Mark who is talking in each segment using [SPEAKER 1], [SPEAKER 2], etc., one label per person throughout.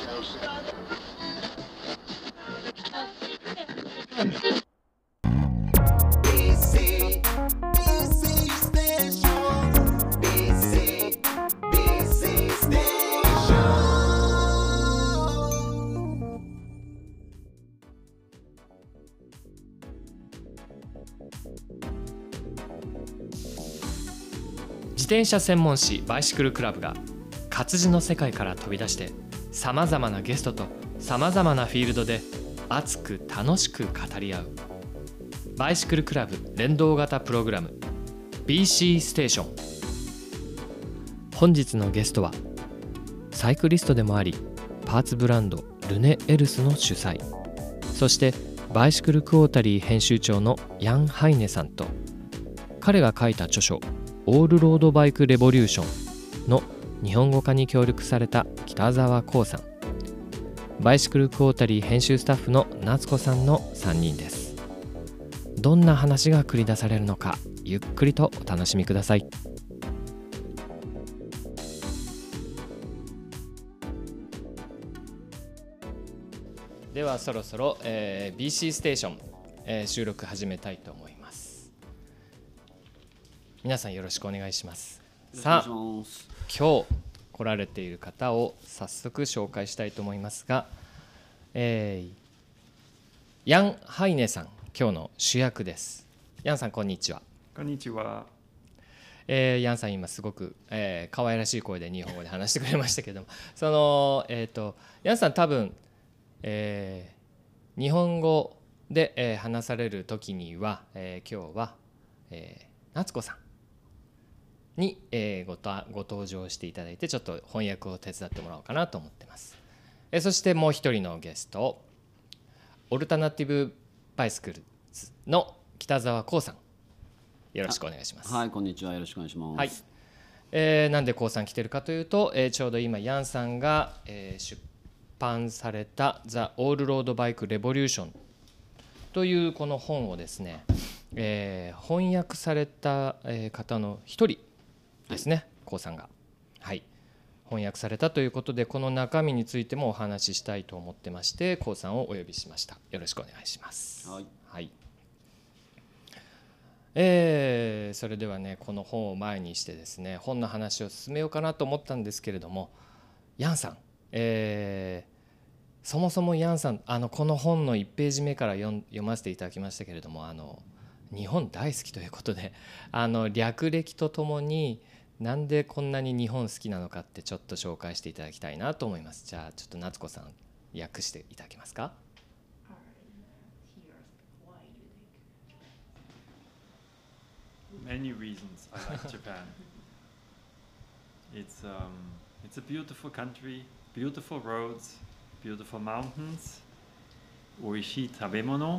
[SPEAKER 1] 自転車専門誌バイシクルクラブが活字の世界から飛び出してさまざまなゲストとさまざまなフィールドで熱く楽しく語り合うバイシクルクラブ連動型プログラム BC ステーション。本日のゲストはサイクリストでもありパーツブランドルネ・エルスの主催、そしてバイシクルクォータリー編集長のヤン・ハイネさんと、彼が書いた著書オールロードバイクレボリューションの日本語化に協力された北澤光さん、バイシクルクォータリー編集スタッフの夏子さんの3人です。どんな話が繰り出されるのか、ゆっくりとお楽しみください。ではそろそろ、BC ステーション、収録始めたいと思います。皆さんよろしくお願いします。さあ、今日来られている方を早速紹介したいと思いますが、ヤン・ハイネさん、今日の主役です。ヤンさん、こんにちは。
[SPEAKER 2] こんにちは。
[SPEAKER 1] ヤンさん、今すごく、可愛らしい声で日本語で話してくれましたけども、その、ヤンさん多分、日本語で、話される時には、今日は、夏子さんに、ご登場していただいて、ちょっと翻訳を手伝ってもらおうかなと思ってます。そしてもう一人のゲスト、オルタナティブバイスクルズの北澤光さん、よろしくお願いします。
[SPEAKER 3] はい、こんにちは。よろしくお願いします。
[SPEAKER 1] はい。なんで光さん来てるかというと、ちょうど今ヤンさんが、出版された The All Road Bike Revolution というこの本をですね、翻訳された、方の一人ですね、光さんが、はい、翻訳されたということで、この中身についてもお話ししたいと思ってまして、光さんをお呼びしました。よろしくお願いします。
[SPEAKER 3] はい、
[SPEAKER 1] はい。それではね、この本を前にしてですね、本の話を進めようかなと思ったんですけれども、ヤンさん、そもそもヤンさん、この本の1ページ目から読ませていただきましたけれども、日本大好きということで、略歴とともになんでこんなに日本好きなのかってちょっと紹介していただきたいなと思います。じゃあちょっと夏子さん、訳していただけますか。
[SPEAKER 2] Many reasons I like Japan. It's a beautiful country, beautiful roads, beautiful mountains, 美味しい食べ物、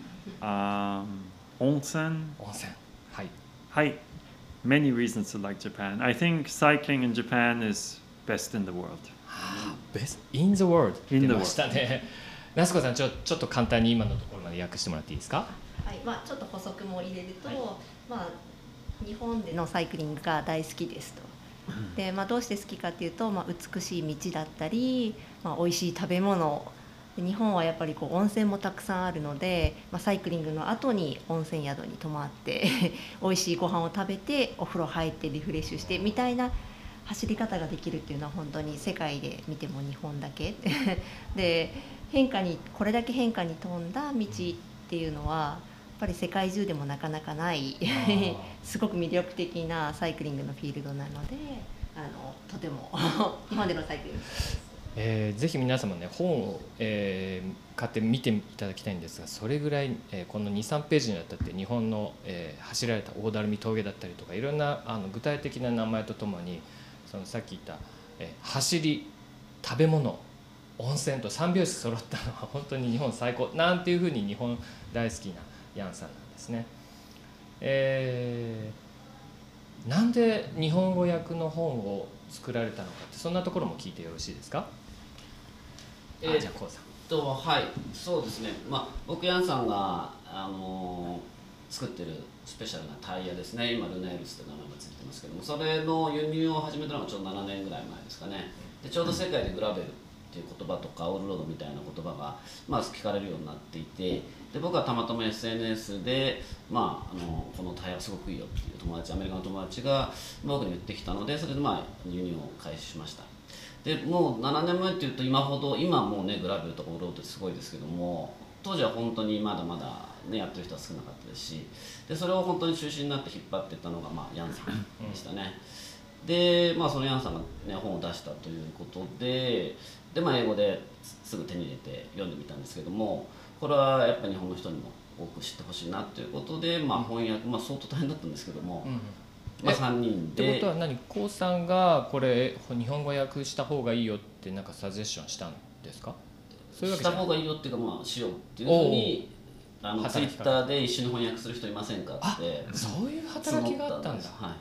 [SPEAKER 2] 温泉。
[SPEAKER 1] はい。
[SPEAKER 2] はい。Many reasons to like Japan. I think cycling in Japan is best in the world.
[SPEAKER 1] Best in the world.
[SPEAKER 2] 出
[SPEAKER 1] ましたね。夏子さん、ちょっと簡単に今のところまで訳してもらっていいですか。
[SPEAKER 4] はい、ちょっと補足も入れると、日本でのサイクリングが大好きですと。で、どうして好きかっていうと、美しい道だったり、美味しい食べ物。日本はやっぱり温泉もたくさんあるので、サイクリングの後に温泉宿に泊まって美味しいご飯を食べてお風呂入ってリフレッシュしてみたいな走り方ができるっていうのは本当に世界で見ても日本だけで、これだけ変化に富んだ道っていうのはやっぱり世界中でもなかなかないすごく魅力的なサイクリングのフィールドなので、とても日本でのサイクリングです。
[SPEAKER 1] ぜひ皆様ね、本を、買って見ていただきたいんですが、それぐらい、この 2,3 ページにわたって日本の、走られた大鳴峠だったりとか、いろんな具体的な名前とともに、そのさっき言った、走り、食べ物、温泉と3拍子揃ったのは本当に日本最高なんていうふうに日本大好きなヤンさんなんですね。なんで日本語訳の本を作られたのかって、そんなところも聞いてよろしいですか。じゃあこうさん。
[SPEAKER 3] はい、そうですね。僕ヤンさんが作ってるスペシャルなタイヤですね。今ルネールスって名前がついてますけども、それの輸入を始めたのがちょうど7年ぐらい前ですかね。でちょうど世界でグラベルっていう言葉とかオールロードみたいな言葉が、聞かれるようになっていて、で僕はたまたま SNS で、このタイヤはすごくいいよっていうアメリカの友達が僕に言ってきたので、それで輸入を開始しました。でもう7年前っていうと今もうねグラベルとかオールロードってすごいですけども、当時は本当にまだまだねやってる人は少なかったですし、でそれを本当に中心になって引っ張っていったのがヤンさんでしたね。でそのヤンさんが、ね、本を出したということで、英語ですぐ手に入れて読んでみたんですけども、これはやっぱり日本の人にも多く知ってほしいなということで、翻訳、相当大変だったんですけども、3人で。
[SPEAKER 1] ってことはコウさんがこれ日本語訳した方がいいよってなんかサジェッションしたんですか？そういうわけじゃない。
[SPEAKER 3] した方がいいよっていうか、しようっていうふうにツイッターで一緒に翻訳する人いませんかって。
[SPEAKER 1] そういう働きがあったんだ。
[SPEAKER 3] はい、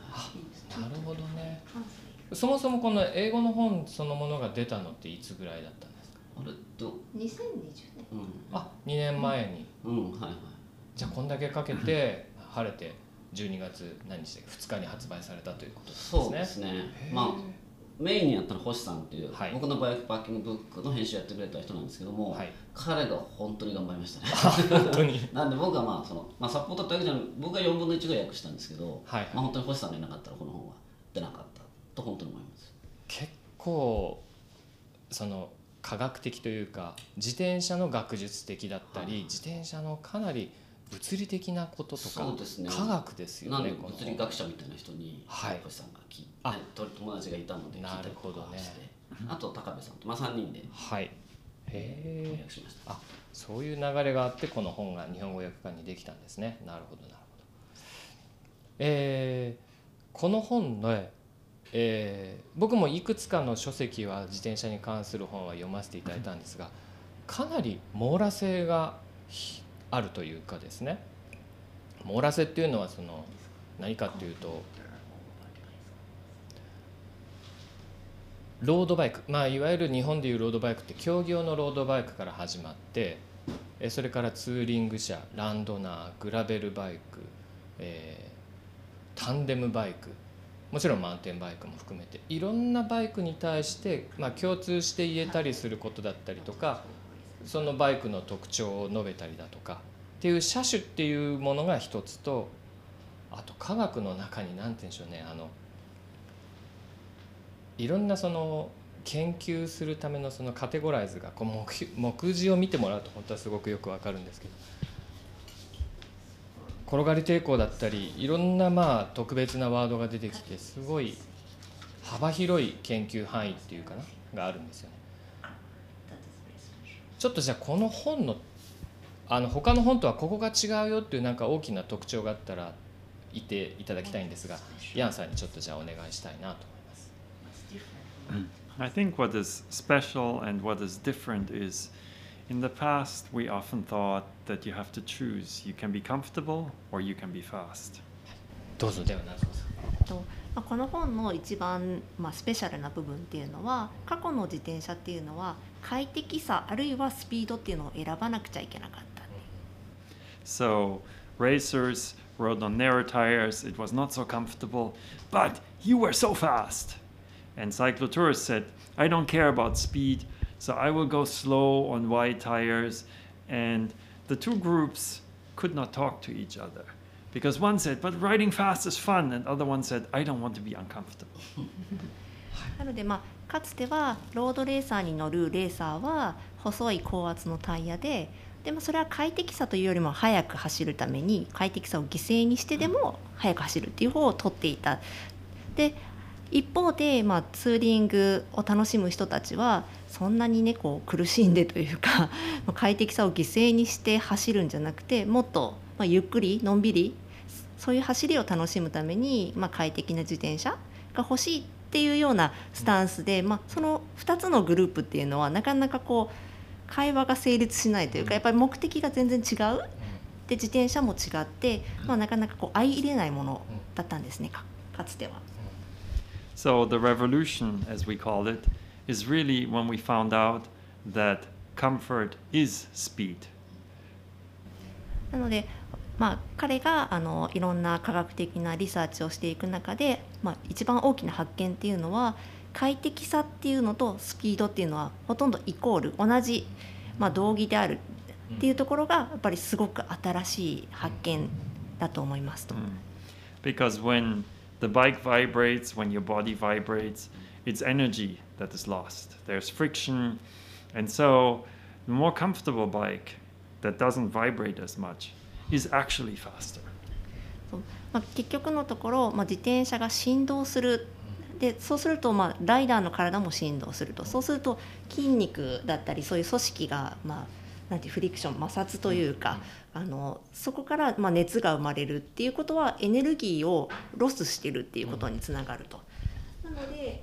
[SPEAKER 1] なるほどね。そもそもこの英語の本そのものが出たのっていつぐらいだったんですか？
[SPEAKER 4] 2020年。
[SPEAKER 1] 2年前に。
[SPEAKER 3] はいはい。
[SPEAKER 1] じゃあこんだけかけて晴れて12月何日で2日に発売されたということですね。
[SPEAKER 3] そうですね。メインにやったのは星さんっていう、僕のバイクパーキングブックの編集やってくれた人なんですけども、彼が本当に頑張りましたね。
[SPEAKER 1] 本当に。
[SPEAKER 3] なんで僕はサポートってわけじゃない、僕が4分の1ぐらい訳したんですけど、本当に星さんがいなかったらこの本は出なかったと本当に思います。
[SPEAKER 1] 結構その科学的というか自転車の学術的だったり、自転車のかなり物理的なこととか、科学ですよね。
[SPEAKER 3] 物理学者みたいな人に星さんが聞いて、友達がいたので聞いたりとかして、あと高部さんと3人で翻訳しました。
[SPEAKER 1] そういう流れがあってこの本が日本語訳版にできたんですね。なるほどなるほど。この本の僕もいくつかの書籍は自転車に関する本は読ませていただいたんですが、かなり網羅性があるというかですね。網羅性っていうのは何かっていうと、ロードバイク、いわゆる日本でいうロードバイクって競技用のロードバイクから始まって、それからツーリング車、ランドナー、グラベルバイク、タンデムバイク、もちろんマウンテンバイクも含めていろんなバイクに対して、共通して言えたりすることだったりとか、そのバイクの特徴を述べたりだとかっていう車種っていうものが一つと、あと科学の中に何て言うんでしょうね、いろんな研究するためのカテゴライズが目次を見てもらうと本当はすごくよくわかるんですけど、転がり抵抗だったりいろんな特別なワードが出てきて、すごい幅広い研究範囲っていうかながあるんですよね。ちょっとじゃあこの本の他の本とはここが違うよっていうなんか大きな特徴があったら言っていただきたいんですが、ヤンさんにちょっとじゃあお願いしたいなと思います。
[SPEAKER 2] I think what is special and what is different is, in the past we often thought that you have to choose. You can be comfortable or you can be fast.
[SPEAKER 1] どうぞ。では奈々さん。
[SPEAKER 4] この本の一番、スペシャルな部分っていうのは、過去の自転車っていうのは快適さあるいはスピードっていうのを選ばなくちゃいけなかった。
[SPEAKER 2] So racers rode on narrow tires. It was not so comfortable, but you were so fast. And cyclotourists said, I don't care about speed, so I will go slow on wide tires. And the two groups could not talk to each other. Because one said, but riding fast is fun, and the other one said, I don't want to be uncomfortable.
[SPEAKER 4] なのでかつてはロードレーサーに乗るレーサーは細い高圧のタイヤで、それは快適さというよりも速く走るために快適さを犠牲にしてでも速く走るっていう方を取っていた。で一方で、ツーリングを楽しむ人たちはそんなにね苦しんでというか快適さを犠牲にして走るんじゃなくて、もっとゆっくりのんびりそういう走りを楽しむために、快適な自転車が欲しいっていうようなスタンスで、その2つのグループっていうのはなかなか会話が成立しないというか、やっぱり目的が全然違うで、自転車も違って、なかなか相入れないものだったんですね、かつては。
[SPEAKER 2] So the revolution, as we call it, is really when we found out that comfort is speed.
[SPEAKER 4] なので、彼がいろんな科学的なリサーチをしていく中で、一番大きな発見っていうのは、 快適さっていうのとスピードっていうのはほとんどイコール同じ、同義であるっていうところがやっぱりすごく新しい発見だと思いますと。
[SPEAKER 2] Because when the bike vibrates, when your body vibrates, it's energy that is lost. There's friction, and so the more comfortable bike that doesn't vibrate as much is actually faster.
[SPEAKER 4] 結局のところ、自転車が振動する。でそうすると、ライダーの体も振動すると。そうすると筋肉だったりそういう組織が、なんていうフリクション摩擦というか、そこから、熱が生まれるっていうことはエネルギーをロスしてるっていうことにつながると。なので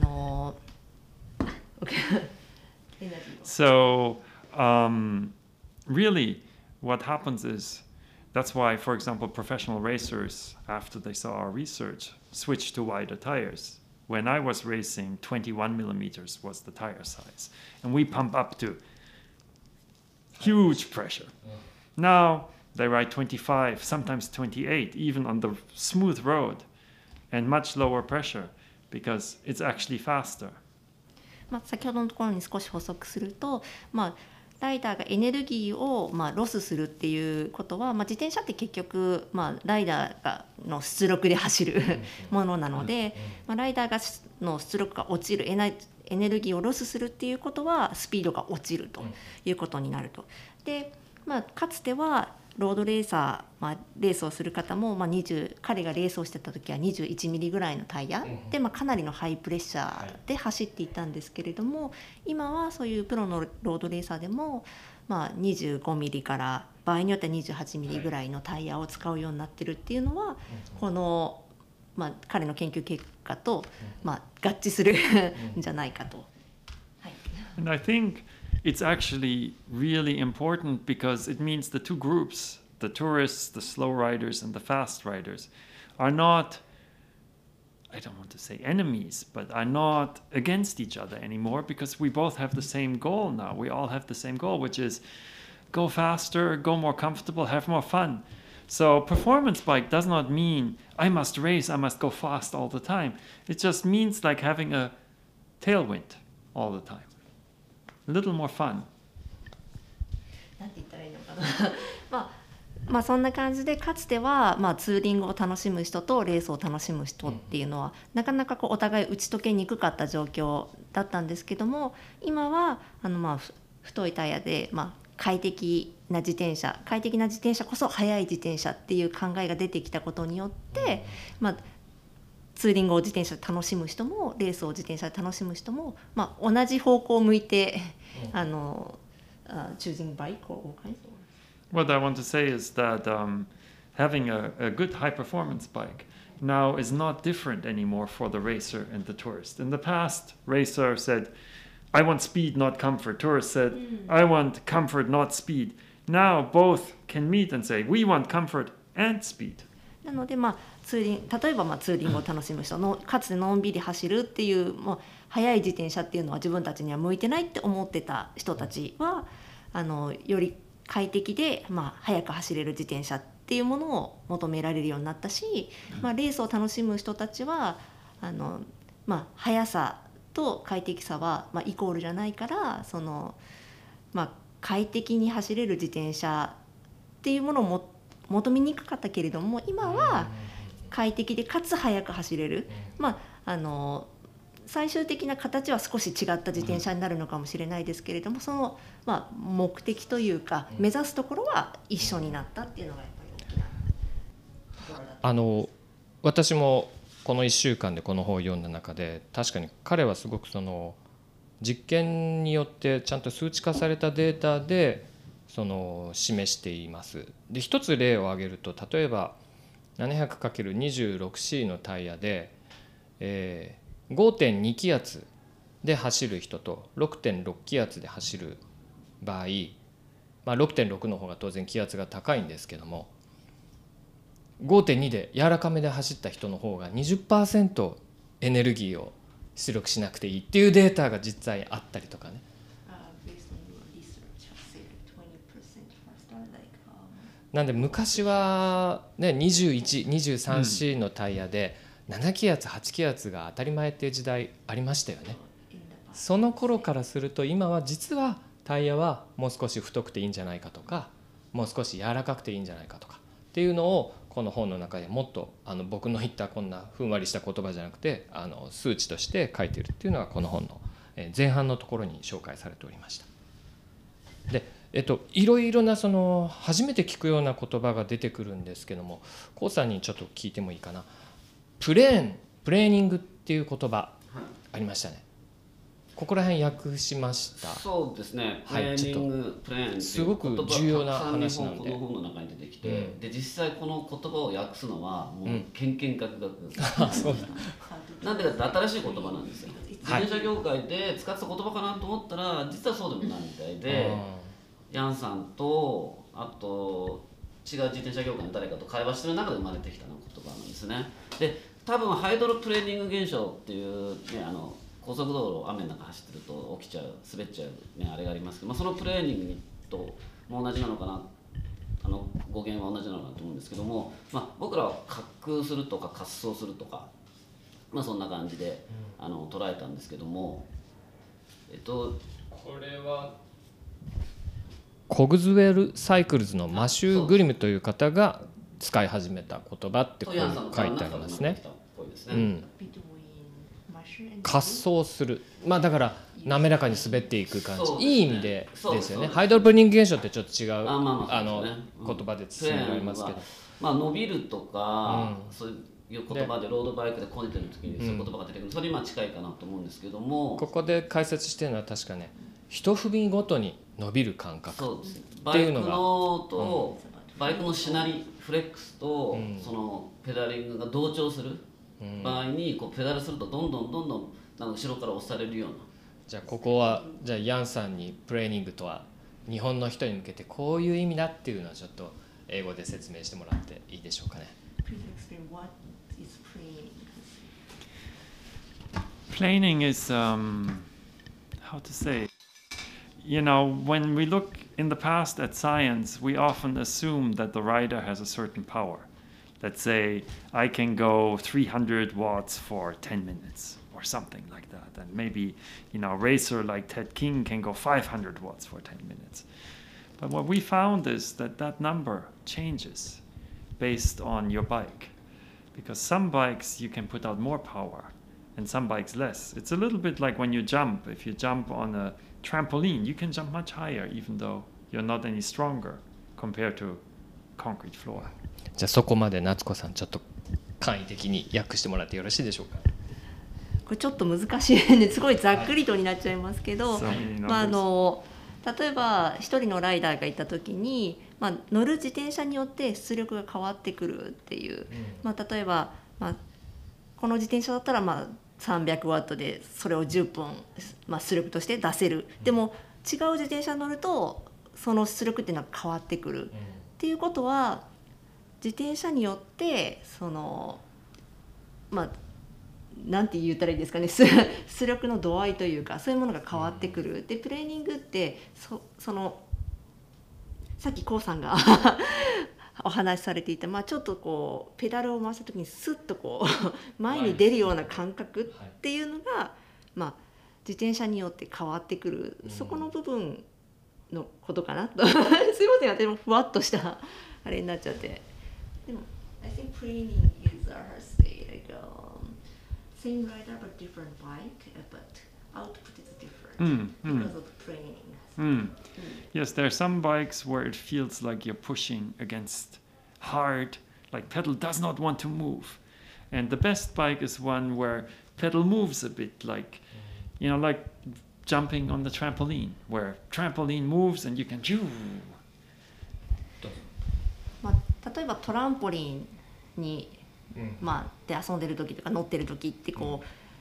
[SPEAKER 2] So really what happens is that's why, for example, professional racers, after they saw our research, switched to wider tires. When I was racing, 21 millimeters was the tire size, and we pump up to huge pressure. Now they ride 25, sometimes 28, even on the smooth road, and much lower pressure because it's actually faster.
[SPEAKER 4] 先ほどのところに少し補足すると、ライダーがエネルギーをロスするっていうことは、自転車って結局、ライダーの出力で走るものなので、ライダーの出力が落ちるエネルギーをロスするっていうことはスピードが落ちるということになると。で、かつてはロードレーサー、レースをする方も、彼がレースをしてた時は21ミリぐらいのタイヤで、かなりのハイプレッシャーで走っていたんですけれども、今はそういうプロのロードレーサーでも、25ミリから場合によっては28ミリぐらいのタイヤを使うようになってるっていうのは、この、彼の研究結果と、合致するんじゃないかと。はい。
[SPEAKER 2] And I think it's actually really important because it means the two groups, the tourists, the slow riders, and the fast riders, are not, I don't want to say enemies, but are not against each other anymore because we both have the same goal now. We all have the same goal, which is go faster, go more comfortable, have more fun. So performance bike does not mean I must race, I must go fast all the time. It just means like having a tailwind all the time.A little more fun.
[SPEAKER 4] なんて言ったらいいのかなそんな感じで、かつては、ツーリングを楽しむ人とレースを楽しむ人っていうのは、なかなかお互い打ち解けにくかった状況だったんですけども、今は太いタイヤで、快適な自転車こそ速い自転車っていう考えが出てきたことによって、ツーリングを自転車で楽しむ人もレースを自転車で楽しむ人も、同じ方向を向いてchoosing bike or all kinds of.
[SPEAKER 2] What I want to say is that having a good high performance bike now is not different anymore for the racer and the tourist. In the past, racer said, I want speed, not comfort. Tourist said, I want comfort, not speed. Now both can meet and say, we want comfort and speed.
[SPEAKER 4] なので例えばツーリングを楽しむ人のかつてのんびり走るっていう速い自転車っていうのは自分たちには向いてないって思ってた人たちはより快適で、速く走れる自転車っていうものを求められるようになったし、レースを楽しむ人たちは速さと快適さは、イコールじゃないから快適に走れる自転車っていうものを求めにくかったけれども、今は快適でかつ速く走れる、最終的な形は少し違った自転車になるのかもしれないですけれども、その、目的というか目指すところは一緒になったっていうのがやっぱり大きなところだと。
[SPEAKER 1] 私もこの1週間でこの本を読んだ中で、確かに彼はすごくその実験によってちゃんと数値化されたデータで示しています。で、一つ例を挙げると、例えば 700×26C のタイヤで、5.2 気圧で走る人と 6.6 気圧で走る場合、6.6 の方が当然気圧が高いんですけども、5.2 で柔らかめで走った人の方が 20% エネルギーを出力しなくていいっていうデータが実際あったりとかね。なんで昔はね、21、23C のタイヤで 7気圧8気圧が当たり前っていう時代ありましたよね。その頃からすると今は実はタイヤはもう少し太くていいんじゃないかとか、もう少し柔らかくていいんじゃないかとかっていうのをこの本の中でもっと僕の言ったこんなふんわりした言葉じゃなくて数値として書いているっていうのがこの本の前半のところに紹介されておりました。でいろいろな初めて聞くような言葉が出てくるんですけども、コウさんにちょっと聞いてもいいかな。プレーニングっていう言葉ありましたね。ここら辺訳しました。
[SPEAKER 3] そうですね。プ
[SPEAKER 1] はい
[SPEAKER 3] レーニング、プレーンっていう
[SPEAKER 1] すごく重要な話なんで。
[SPEAKER 3] この本の中に出てきて、
[SPEAKER 1] うん
[SPEAKER 3] で実際この言葉を訳すのはもうけんけんがくがく。
[SPEAKER 1] あ、そうだ。
[SPEAKER 3] なんでかって新しい言葉なんですよ。自
[SPEAKER 1] はい
[SPEAKER 3] 転車業界で使ってた言葉かなと思ったら実はそうでもないみたいで、ヤンさんとあと違う自転車業界の誰かと会話してる中で生まれてきた言葉なんですね。で多分ハイドロプレーニング現象っていうね、高速道路雨の中走ってると起きちゃう滑っちゃう、ね、あれがありますけど、そのプレーニングとも同じなのかな、語源は同じなのかなと思うんですけども、僕らは滑空するとか滑走するとか、そんな感じで捉えたんですけども、
[SPEAKER 1] これはコグズウェルサイクルズのマシュー・グリムという方が使い始めた言葉ってこう書いてありますね。滑走する、だから滑らかに滑っていく感じ、いい意味でですよね。ハイドロプレーニング現象ってちょっと違う言葉で包められますけど、
[SPEAKER 3] 伸びるとか、そういう言葉でロードバイクでこねてる時にそういう言葉が出てくる、それに近いかなと思うんですけども、
[SPEAKER 1] ここで解説してるのは確かね、一踏みごとに伸びる感覚っていうのが、
[SPEAKER 3] バイクのしなりフレックスとそのペダリングが同調する場合にペダルするとどんどん後ろから押されるような。
[SPEAKER 1] じゃあここはじゃあヤンさんにプレーニングとは日本の人に向けてこういう意味だっていうのはちょっと英語で説明してもらっていいでしょうかね。
[SPEAKER 2] Planing is how to say, when we look in the past at science, we often assume that the rider has a certain power. Let's say I can go 300 watts for 10 minutes or something like that, and maybe a racer like Ted King can go 500 watts for 10 minutes. But what we found is that number changes based on your bike, because some bikes you can put out more power and some bikes less. It's a little bit like when you jump. If you jump on a trampoline, you can jump much higher even though you're not any stronger compared to concrete floor.
[SPEAKER 1] じゃあそこまで夏子さんちょっと簡易的に訳してもらってよろしいでしょうか。
[SPEAKER 4] これちょっと難しいね、すごいざっくりとになっちゃいますけど、例えば一人のライダーがいた時に、乗る自転車によって出力が変わってくるっていう、例えば、この自転車だったら300ワットでそれを10分、出力として出せる。でも違う自転車に乗るとその出力っていうのは変わってくる、っていうことは自転車によってなんて言ったらいいですかね、出力の度合いというかそういうものが変わってくる。でプレーニングってさっきコウさんがお話しされていた、ちょっとペダルを回した時にスッと前に出るような感覚っていうのが、自転車によって変わってくる、そこの部分のことかなとすいません、私もふわっとしたあれになっちゃって。でも I think training is same rider but different bike, but output is different because of training.
[SPEAKER 2] Yes, there are some bikes where it feels like you're pushing against hard, like pedal does not want to move. And the best bike is one where pedal moves a bit, like jumping on the trampoline, where trampoline moves and you can do.
[SPEAKER 4] 例えばトランポリンにで遊んでる時とか乗ってる時ってト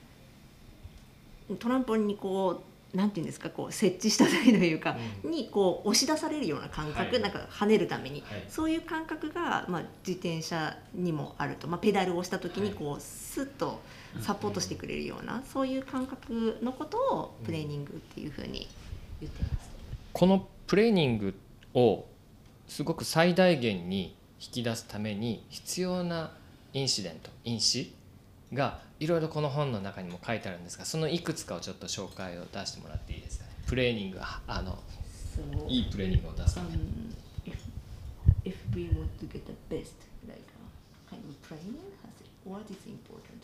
[SPEAKER 4] ランポリンになんていうんですか、設置した際というか、に押し出されるような感覚、なんか跳ねるために、そういう感覚が自転車にもあると、ペダルをした時にスッとサポートしてくれるような、そういう感覚のことをプレーニングっていうふうに言ってます。
[SPEAKER 1] このプレーニングをすごく最大限に引き出すために必要な因子がいろいろこの本の中にも書いてあるんですが、そのいくつかをちょっと紹介を出してもらっていいですかね。プレーニング、
[SPEAKER 4] So,
[SPEAKER 1] いいプレーニングを出すために。
[SPEAKER 4] if we want to get the best, like kind of training, what is important?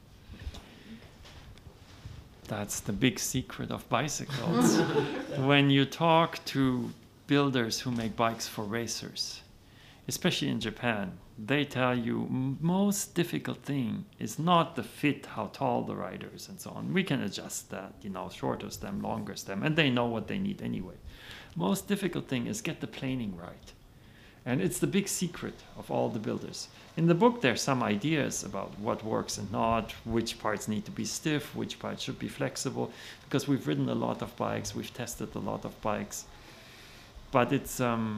[SPEAKER 2] That's the big secret of bicycles. When you talk to builders who make bikes for racers, especially in Japan, they tell you most difficult thing is not the fit, how tall the rider is and so on. We can adjust that, shorter stem, longer stem, and they know what they need anyway. Most difficult thing is get the planing right. And it's the big secret of all the builders. In the book, there's some ideas about what works and not, which parts need to be stiff, which parts should be flexible, because we've ridden a lot of bikes, we've tested a lot of bikes. But it's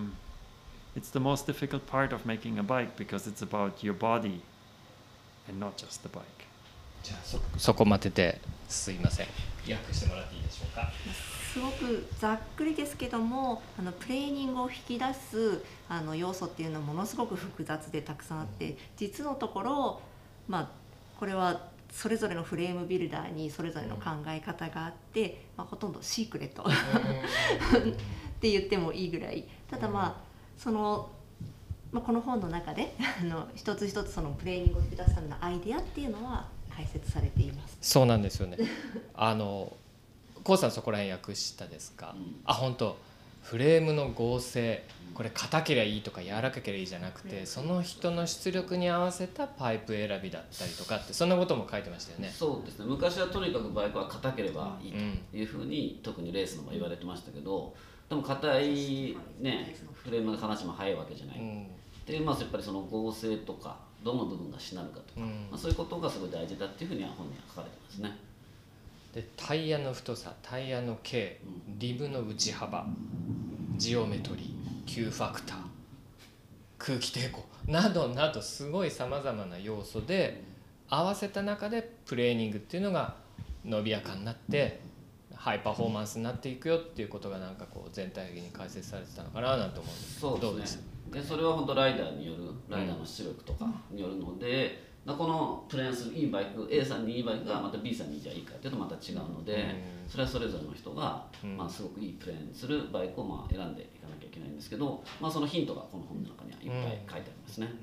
[SPEAKER 2] the most difficult part of making a bike because it's about your body and not just the bike.
[SPEAKER 1] じゃあそこまでですいません。訳してもらっていいでしょうか。
[SPEAKER 4] すごくざっくりですけども、プレーニングを引き出す要素っていうのはものすごく複雑でたくさんあって、実のところ、これはそれぞれのフレームビルダーにそれぞれの考え方があって、ほとんどシークレットって言ってもいいぐらい。ただこの本の中で一つ一つそのプレーニングを引き出すためのアイデアっていうのは解説されています。
[SPEAKER 1] そうなんですよね。コウさんそこら辺訳したですか。本当。フレームの合成、これ硬ければいいとか柔らかければいいじゃなくて、その人の出力に合わせたパイプ選びだったりとかって、そんなことも書いてましたよね。
[SPEAKER 3] そうですね。昔はとにかくバイクは硬ければいいというふうに、特にレースの場合言われてましたけど、でも硬いねフレームが話も早いわけじゃない。でやっぱりその合成とかどの部分がしなるかとか、そういうことがすごい大事だっていうふうには本には書かれてますね。
[SPEAKER 1] でタイヤの太さ、タイヤの径、リブの内幅、ジオメトリー、Q ファクター、空気抵抗などなどすごいさまざまな要素で合わせた中でプレーニングっていうのが伸びやかになってハイパフォーマンスになっていくよっていうことがなんかこう全体的に解説されてたのかななんて思うんですけど、どうですか？
[SPEAKER 3] でそれは本当ライダーによるライダーの出力とかによるので、このプレーンするいいバイク A さんにいいバイクがまた B さんにじゃあいいかっていうとまた違うので、それはそれぞれの人が、すごくいいプレーンするバイクを選んでいかなきゃいけないんですけど、そのヒントがこの本の中にはいっぱい書いてありますね。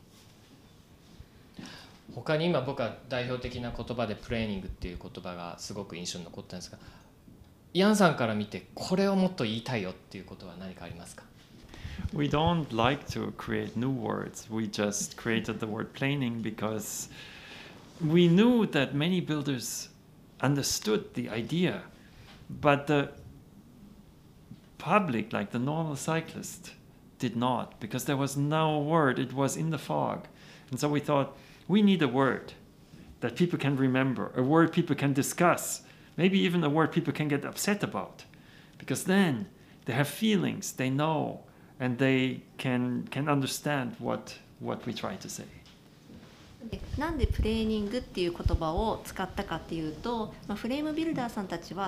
[SPEAKER 1] 他に今僕は代表的な言葉でプレーニングっていう言葉がすごく印象に残ったんですが、ヤンさんから見てこれをもっと言いたいよっていうことは何かありますか
[SPEAKER 2] ？We don't like to create new words. We just created the word planing because we knew that many builders understood the idea, but the public, like the normal cyclist, did not because there was no word. It was in the fog. And so we thought, we need a word that people can remember, a word people can discuss, maybe even a word people can get upset about, because then they have feelings, they know.And they can understand what we try to say.
[SPEAKER 4] なんでプレーニングっていう言葉を使ったかっていうと、フレームビルダーさんたちは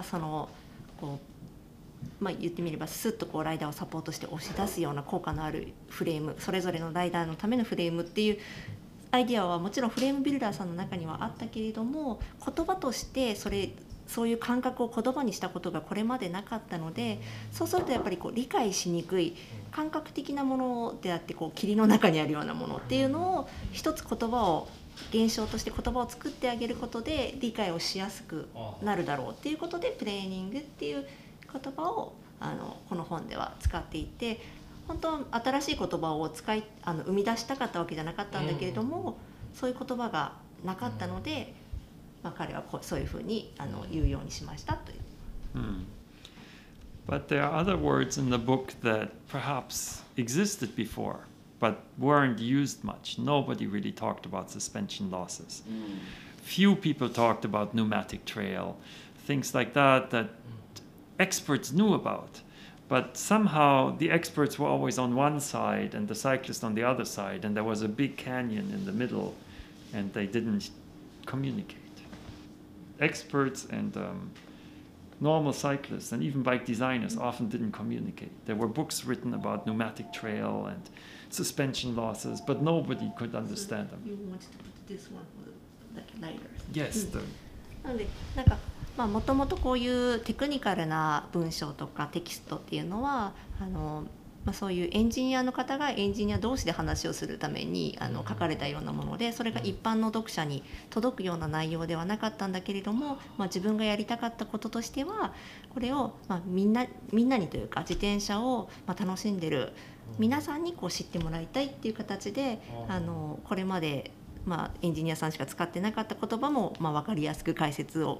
[SPEAKER 4] 言ってみればスッとライダーをサポートして押し出すような効果のあるフレーム、それぞれのライダーのためのフレームっていうアイデアはもちろんフレームビルダーさんの中にはあったけれども、言葉としてそういう感覚を言葉にしたことがこれまでなかったので、そうするとやっぱり理解しにくい感覚的なものであって霧の中にあるようなものっていうのを一つ言葉を現象として言葉を作ってあげることで理解をしやすくなるだろうっていうことでプレーニングっていう言葉をこの本では使っていて、本当は新しい言葉を生み出したかったわけじゃなかったんだけれども、そういう言葉がなかったので、彼はそういうふうに言うようにしましたという。
[SPEAKER 2] But there are other words in the book that perhaps existed before, but weren't used much. Nobody really talked about suspension losses. Few people talked about pneumatic trail, things like that experts knew about. But somehow the experts were always on one side and the cyclist on the other side, and there was a big canyon in the middle, and they didn't communicate.Experts and normal cyclists and even bike designers often didn't communicate. There were books written about pneumatic trail and suspension losses, but nobody could understand them.
[SPEAKER 4] You wanted to put this one for だっけ、ライダー。
[SPEAKER 2] Yes.
[SPEAKER 4] Naのでなんかもともとこういうテクニカルな文章とかテキストっていうのはそういうエンジニアの方がエンジニア同士で話をするために書かれたようなもので、それが一般の読者に届くような内容ではなかったんだけれども、自分がやりたかったこととしてはこれをみんなにというか自転車を楽しんでる皆さんにこう知ってもらいたいっていう形でこれまでエンジニアさんしか使ってなかった言葉も分かりやすく解説を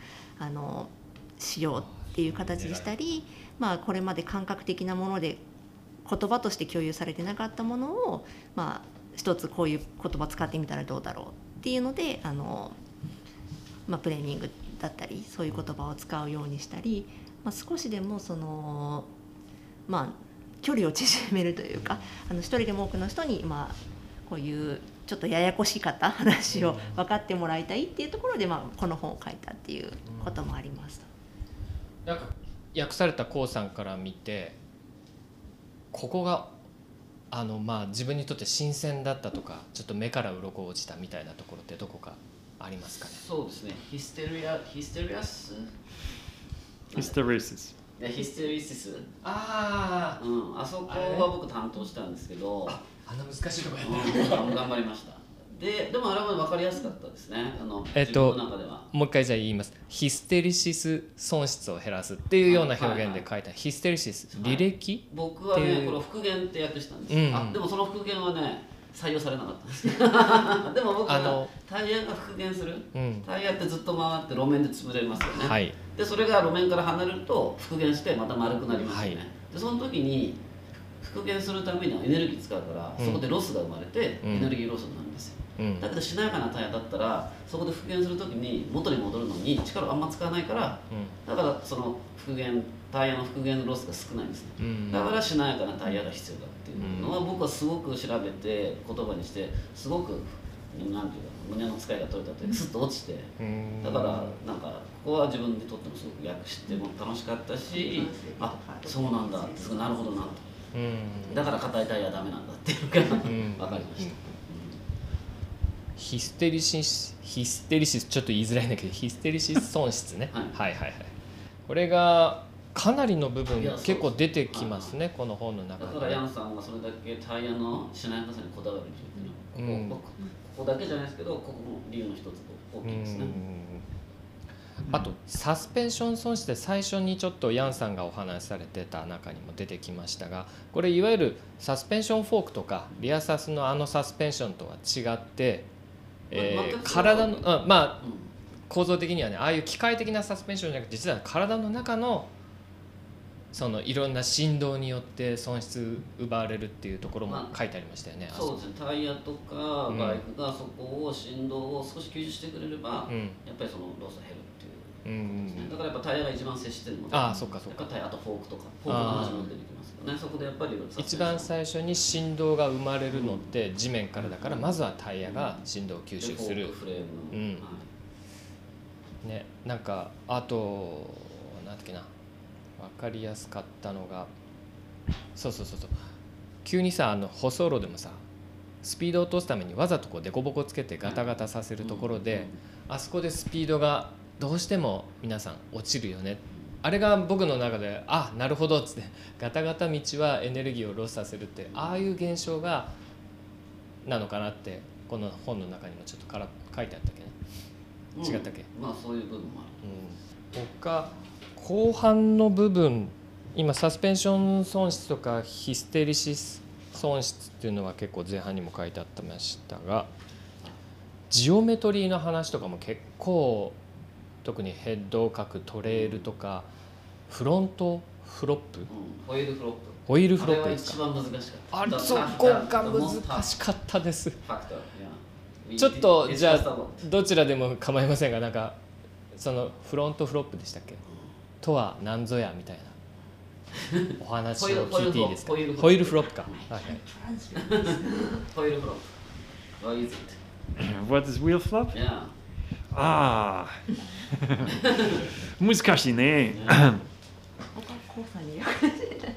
[SPEAKER 4] しようっていう形でしたり、これまで感覚的なもので言葉として共有されてなかったものを一つこういう言葉使ってみたらどうだろうっていうのでプレーニングだったりそういう言葉を使うようにしたり、少しでも距離を縮めるというか一人でも多くの人にこういうちょっとややこしかった話を分かってもらいたいっていうところで、この本を書いたっていうこともあります。
[SPEAKER 1] なんか訳されたコウさんから見てここが自分にとって新鮮だったとかちょっと目から鱗落ちたみたいなところってどこかありますかね。
[SPEAKER 3] そうですね。ヒステリシス。あそこは僕担当したんですけど、
[SPEAKER 1] 難しいところ
[SPEAKER 3] 頑張りました。でもあれは分かりやすかったですね。自分の中では。
[SPEAKER 1] もう一回じゃあ言います。ヒステリシス損失を減らすっていうような表現で書いたヒステリシス履歴、
[SPEAKER 3] 僕はねこれ復元って訳したんです。でもその復元はね採用されなかったんですでも僕はタイヤが復元する、タイヤってずっと回って路面で潰れますよね、でそれが路面から離れると復元してまた丸くなりますよね、でその時に復元するためにはエネルギー使うから、そこでロスが生まれてエネルギーロスになるんですよ、だけどしなやかなタイヤだったらそこで復元する時に元に戻るのに力をあんま使わないから、だからそのタイヤの復元のロスが少ないんですね、だからしなやかなタイヤが必要だっていうのは僕はすごく調べて言葉にしてすごくなんていうか胸の使いが取れたというかスッと落ちて、だからなんかここは自分にとってもすごく訳しても楽しかったし、そうなんだってすごいなるほどなと、だから硬いタイヤはダメなんだっていうのが分かりました。
[SPEAKER 1] ヒステリシスちょっと言いづらいんだけどヒステリシス損失ねはいこれがかなりの部分結構出てきますね、この本の中で。
[SPEAKER 3] だからヤンさんがそれだけタイヤのしなやかさにこだわる理由っていうのは、ここだけじゃないですけどここも理由の一つと大きいですね。
[SPEAKER 1] あとサスペンション損失で最初にちょっとヤンさんがお話しされてた中にも出てきましたが、これいわゆるサスペンションフォークとかリアサスのサスペンションとは違って体の構造的にはねああいう機械的なサスペンションじゃなくて実は体の中のそのいろんな振動によって損失奪われるっていうところも書いてありましたよね。
[SPEAKER 3] そうですね。タイヤとかバイクがそこを振動を少し吸収してくれれば、やっぱりそのロスが減るっていうことですね。だからやっぱタイヤが一番接してるので、
[SPEAKER 1] そうか
[SPEAKER 3] タイヤとフォークとかフォークの話も出てきますよね。そこでやっぱり
[SPEAKER 1] 一番最初に振動が生まれるのって地面からだから、まずはタイヤが振動を吸収する。
[SPEAKER 3] フレームの、
[SPEAKER 1] ね、なんかあとなんだっけな。分かりやすかったのがそう急にさ舗装路でもさスピードを落とすためにわざとこうデコボコつけてガタガタさせるところで、あそこでスピードがどうしても皆さん落ちるよね、あれが僕の中でなるほどっつってガタガタ道はエネルギーをロスさせるってああいう現象がなのかなってこの本の中にもちょっと書いてあったっけね、違ったっけ。
[SPEAKER 3] そういう部分もある、
[SPEAKER 1] 他後半の部分今サスペンション損失とかヒステリシス損失っていうのは結構前半にも書いてあってましたが、ジオメトリーの話とかも結構特にヘッドを描くトレールとかフロントフロップ、
[SPEAKER 3] ホイールフロップ
[SPEAKER 1] ホイールフロップですか。
[SPEAKER 3] あれは一番難しかった。
[SPEAKER 1] そこが難しかったです。ちょっとじゃあどちらでも構いませんが、なんかそのフロントフロップでしたっけとは何ぞやみたいなお話を聞いていいですか。ホイールフロップか。
[SPEAKER 3] ホイールフロップ。What is it?
[SPEAKER 2] What is wheel flop?
[SPEAKER 3] Yeah.
[SPEAKER 2] 難しい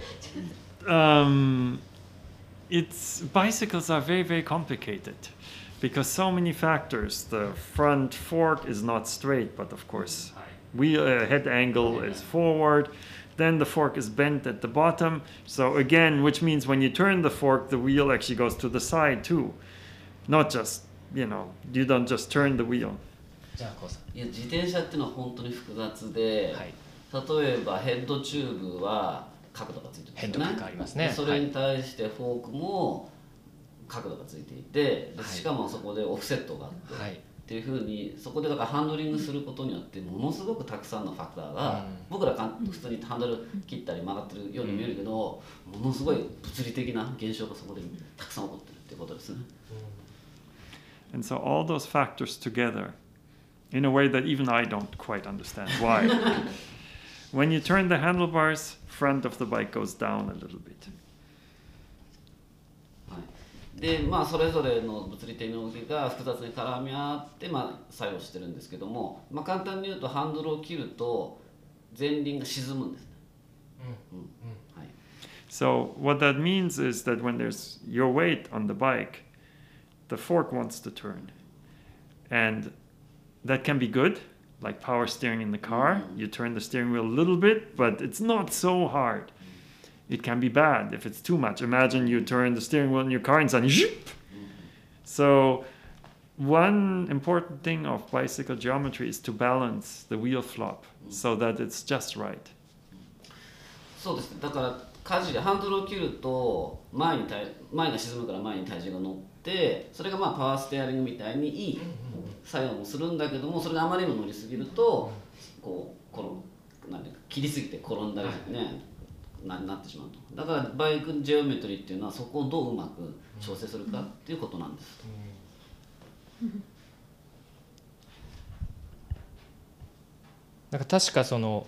[SPEAKER 2] ね。Bicycles are very, very complicated. because so many factors. The front fork is not straight, but of course,
[SPEAKER 1] はい
[SPEAKER 2] head angle is forward. Then the fork is bent at the bottom. So again, which means when you turn the fork, the wheel actually goes to the side too. Not just, you don't just turn the wheel.
[SPEAKER 1] じゃあこうさん
[SPEAKER 3] いや自転車っていうのは本当に複雑で、
[SPEAKER 1] はい
[SPEAKER 3] 例えばヘッドチューブは角度がついてるんですよね。
[SPEAKER 1] ヘッド角ありますね
[SPEAKER 3] でそれに対してフォークも角度がついていて、で
[SPEAKER 1] はい
[SPEAKER 3] しかもそこでオフセットがあって、
[SPEAKER 1] はい
[SPEAKER 3] っていうふうにそこでだからハンドリングすることによってものすごくたくさんのファクターが、僕ら普通にハンドル切ったり曲がってるように見えるけど、ものすごい物理的な現象がそこでたくさん起こってるっていうことですね。
[SPEAKER 2] And so all those factors together, in a way that even I don't quite understand why. When you turn the handlebars, front of the bike goes down a little bit.
[SPEAKER 3] でまあそれぞれの物理的な動きが複雑に絡み合って作用してるんですけども、簡単に言うとハンドルを切ると前輪が沈むんですね。はい。
[SPEAKER 2] So what that means is that when there's your weight on the bike, the fork wants to turn. And that can be good, like power steering in the car. You turn the steering wheel a little bit, but it's not so hard. It can be bad if it's too much. Imagine you turn the steering wheel in your car and suddenly zhip. So one important thing of bicycle geometry is to balance the wheel flop so that it's just right.
[SPEAKER 3] そうですね。だからハンドルを切ると前が沈むから前に体重が乗って、それがパワーステアリングみたいにいい作用もするんだけども、それがあまりにも乗りすぎるとなんていうか切りすぎて転んだりね。なってしまうと。だからバイクジオメトリーっていうのはそこをどううまく調整するかっていうことなんです。
[SPEAKER 1] なんか確かその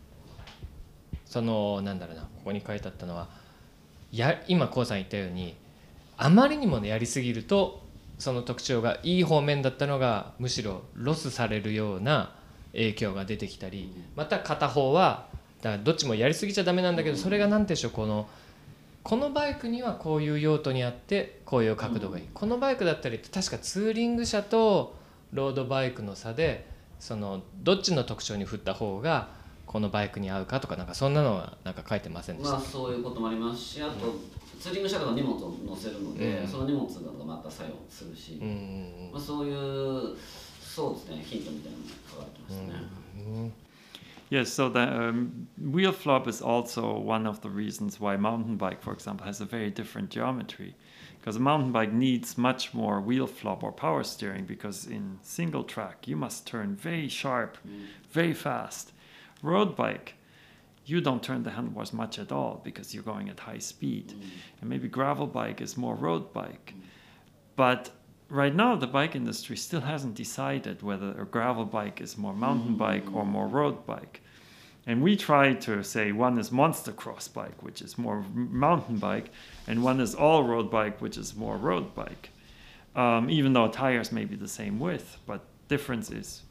[SPEAKER 1] なんだろうな、ここに書いてあったのは今こうさん言ったようにあまりにもやりすぎるとその特徴がいい方面だったのがむしろロスされるような影響が出てきたり、また片方はだからどっちもやりすぎちゃダメなんだけど、それが何でしょう、このバイクにはこういう用途にあってこういう角度がいい、このバイクだったり確かツーリング車とロードバイクの差でどっちの特徴に振った方がこのバイクに合うかとか、なんかそんなのはなんか書いてませんでした。
[SPEAKER 3] そういうこともありますし、あとツーリング車とか荷物を乗せるので、その荷物がまた作用するし、そういうそうですね、ヒントみたいなのが書かれてますね。
[SPEAKER 2] Yes, so the wheel flop is also one of the reasons why mountain bike, for example, has a very different geometry. Because a mountain bike needs much more wheel flop or power steering, because in single track you must turn very sharp, very fast. Road bike, you don't turn the handlebars much at all because you're going at high speed. And maybe gravel bike is more road bike. But right now, the bike industry still hasn't decided whether a gravel bike is more mountain bike or more road bike. And we try to say one is monster cross bike, which is more mountain bike, and one is all road bike, which is more road bike. Even though tires may be the same width, but difference is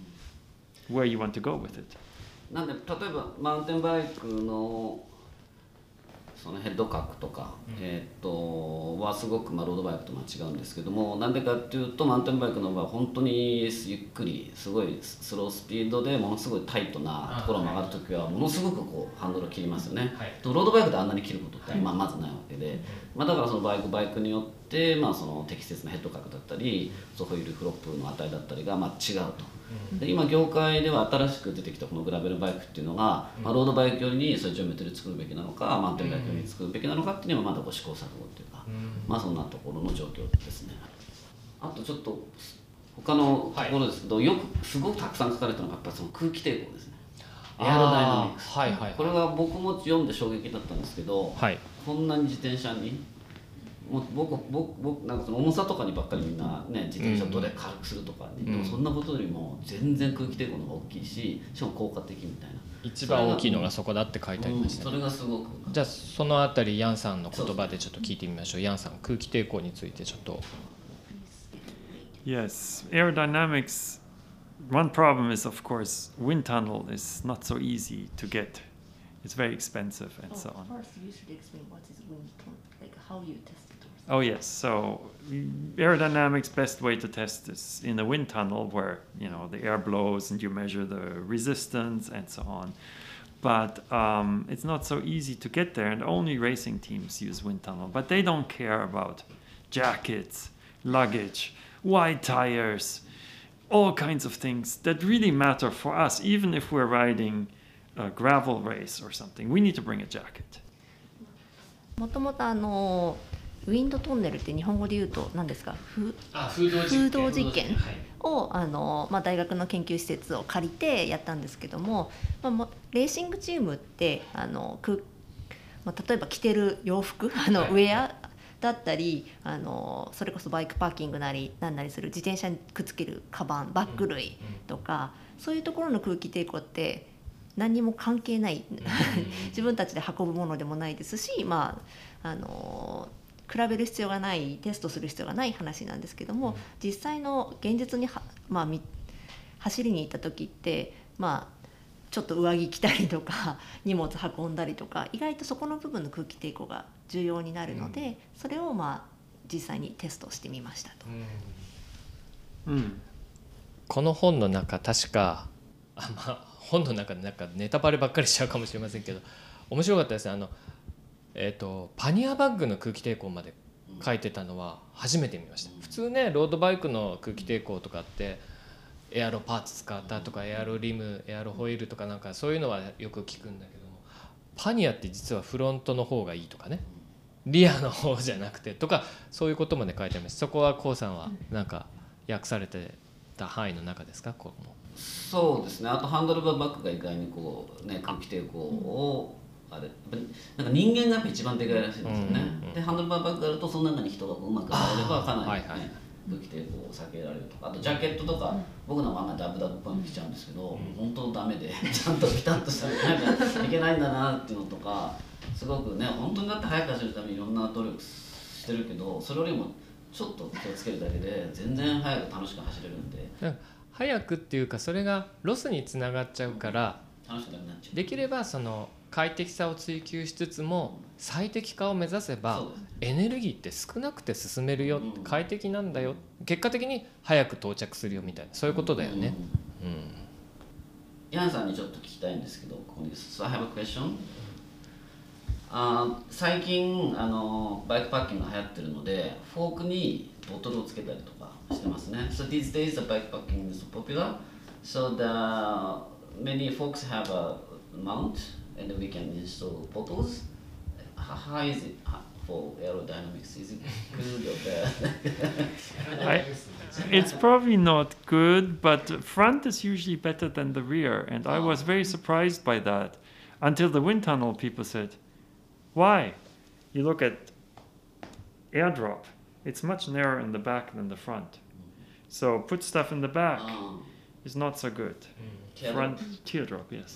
[SPEAKER 2] where you want to go with it.
[SPEAKER 3] なんで例えばマウンテンバイクのそのヘッド角とか、はすごくロードバイクと違うんですけども、なんでかっていうとマウンテンバイクの場合は本当にゆっくりすごいスロースピードでものすごいタイトなところを曲がるときはものすごくハンドルを切りますよね。ロードバイクであんなに切ることってまずないわけで、だからそのバイクによってその適切なヘッド角だったりホイールフロップの値だったりが違うと。で今業界では新しく出てきたこのグラベルバイクっていうのが、ロードバイクよりにそういうジオメトリー作るべきなのか、マウンテンバイクよりに作るべきなのかっていうのはまだ試行錯誤っていうか、そんなところの状況ですね。あとちょっと他のところですけど、よくすごくたくさん書かれたのがやっぱりその空気抵抗ですね。エアロダイナミクス。これが僕も読んで衝撃だったんですけど、こんなに自転車に僕なんかその重さとかにばっかりみんなね、自転車どれ軽くするとか、でもそんなことよりも全然空気抵抗の方が大きいし、しかも効果的みたいな。
[SPEAKER 1] 一番大きいのがそこだって書いてありましたね。
[SPEAKER 3] それがすごく。
[SPEAKER 1] じゃあそのあたりヤンさんの言葉でちょっと聞いてみましょう。ヤンさん、空気抵抗についてちょっと。
[SPEAKER 2] Yes, aerodynamics. One problem is, of course, wind tunnel is not so easy to get. It's very expensive and so on.
[SPEAKER 4] First, you should explain what is wind tunnel, like how you test it or
[SPEAKER 2] Oh yes. So aerodynamics best way to test is in a wind tunnel where the air blows and you measure the resistance and so on. But it's not so easy to get there, and only racing teams use wind tunnel. But they don't care about jackets, luggage, wide tires, all kinds of things that really matter for us. Even if we're riding a gravel race or something, we need to bring a jacket.
[SPEAKER 4] もともとウィンドトンネルって日本語で言うと何ですか、
[SPEAKER 1] 風
[SPEAKER 4] 洞実験を大学の研究施設を借りてやったんですけども、レーシングチームって例えば着てる洋服ウェアだったりそれこそバイクパーキングなりなんなりする自転車にくっつけるカバンバッグ類とか、そういうところの空気抵抗って何にも関係ない自分たちで運ぶものでもないですし、比べる必要がない、テストする必要がない話なんですけども、実際の現実に走りに行った時ってちょっと上着着たりとか荷物運んだりとか、意外とそこの部分の空気抵抗が重要になるので、それを実際にテストしてみましたと。
[SPEAKER 1] この本の中確か本の中でネタバレばっかりしちゃうかもしれませんけど、面白かったですね。パニアバッグの空気抵抗まで書いてたのは初めて見ました。普通ね、ロードバイクの空気抵抗とかってエアロパーツ使ったとか、エアロリム、エアロホイールとかなんかそういうのはよく聞くんだけども、パニアって実はフロントの方がいいとかね、リアの方じゃなくてとか、そういうことまで書いてあります。そこはコウさんはなんか訳されてた範囲の中ですか？ここも
[SPEAKER 3] そうですね。あとハンドルバーバッグが意外に空気抵抗をなんか人間がやっぱ一番でかいらしいんですよね。でハンドルバーバッグがあるとその中に人がうまく入ればかなり、空気抵抗を避けられるとか、あとジャケットとか、僕のままダブダブっぽいの着ちゃうんですけど、本当ダメでちゃんとピタッとしたらいけないんだなっていうのとか、すごくね、本当にだって速く走るためにいろんな努力してるけど、それよりもちょっと気をつけるだけで全然速く楽しく走れるんで。
[SPEAKER 1] 速くっていうか、それがロスにつながっちゃうから、
[SPEAKER 3] 楽しくなくなっちゃう。
[SPEAKER 1] できればその快適さを追求しつつも最適化を目指せば、エネルギーって少なくて進めるよ、快適なんだよ、結果的に早く到着するよみたいな、そういうことだよね。
[SPEAKER 3] ヤンさんにちょっと聞きたいんですけど、ここに So I have a question. 最近バイクパッキングが流行ってるので、フォークにボトルをつけたりとかしてますね。So these days the bike packing is popular. So many folks have a mount and we can install bottles. How is it for aerodynamics? Is it good or bad?
[SPEAKER 2] It's probably not good, but front is usually better than the rear, and I was very surprised by that until the wind tunnel people said, why? You look at airdrop, it's much narrower in the back than the front. So put stuff in the back is not so good. Front teardrop, yes.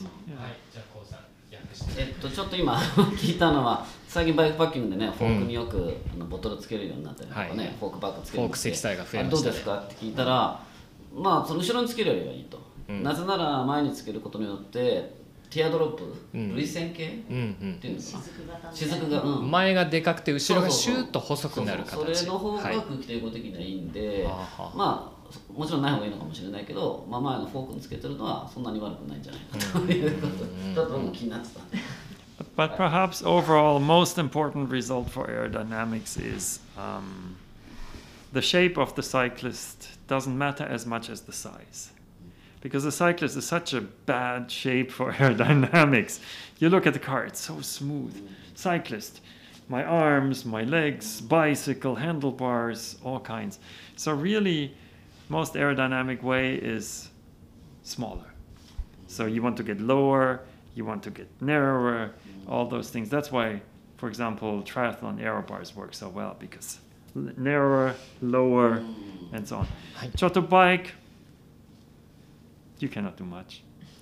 [SPEAKER 3] ちょっと今聞いたのは、最近バイクパッキングでね、フォークによくボトルつけるようになったりとかね、フォークバッグつけるようになって、
[SPEAKER 1] フォーク積載が増えましたね。
[SPEAKER 3] どうですかって聞いたら、その後ろにつけるよりはいいと。なぜなら前につけることによってティアドロップ、涙腺系っていうんですか、雫が、
[SPEAKER 1] 前がでかくて後ろがシューッと細くなる形。
[SPEAKER 3] それの方が空気抵抗的にはいいんで、もちろんない方がいいのかもしれないけど、前のフォークにつけてるのはそんなに悪くないんじゃないかということちょっと僕も気になってた。
[SPEAKER 2] But perhaps overall, most important result for aerodynamics is the shape of the cyclist doesn't matter as much as the size. Because the cyclist is such a bad shape for aerodynamics. You look at the car, it's so smooth. Cyclist, my arms, my legs, bicycle, handlebars, all kinds. So really, most aerodynamic way is smaller. So you want to get lower, you want to get narrower, all those things. That's why, for example, triathlon aero bars work so well, because narrower, lower, and so on. Choto bike, you cannot do much.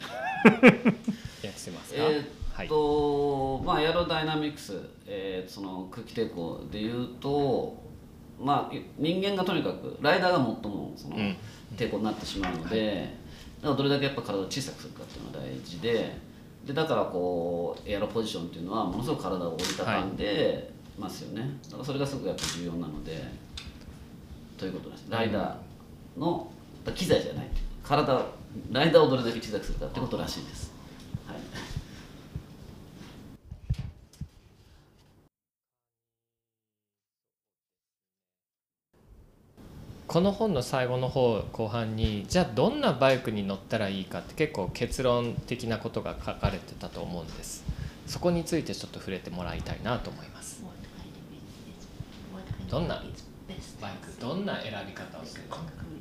[SPEAKER 3] エアロダイナミクス、その空気抵抗でいうと、人間がとにかくライダーが最もその抵抗になってしまうので、だからどれだけやっぱ体を小さくするかっていうのが大事で、だからエアロポジションっていうのはものすごく体を折りたたんで、 ますよね。だからそれがすごくやっぱ重要なので、ということです。ライダーの機材じゃない、ライダーをどれだけ小さくするかってことらしいです。はい。
[SPEAKER 1] この本の最後の方後半にじゃあどんなバイクに乗ったらいいかって結構結論的なことが書かれてたと思うんです。そこについてちょっと触れてもらいたいなと思います。どんなバイク、どんな選び方をするのか。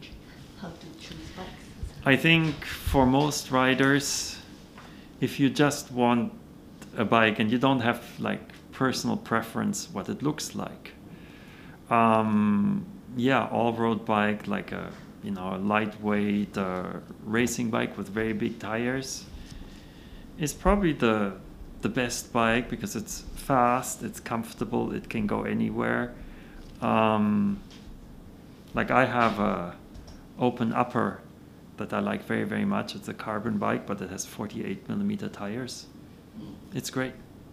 [SPEAKER 2] I think for most riders, if you just want a bike and you don't have like personal preference what it looks like, yeah, all-road bike, like a lightweight racing bike with very big tires, is probably the best bike because it's fast, it's comfortable, it can go anywhere. Like I have a open upper that I like very, very much. It's a carbon bike, but it has 48mm tires. It's great.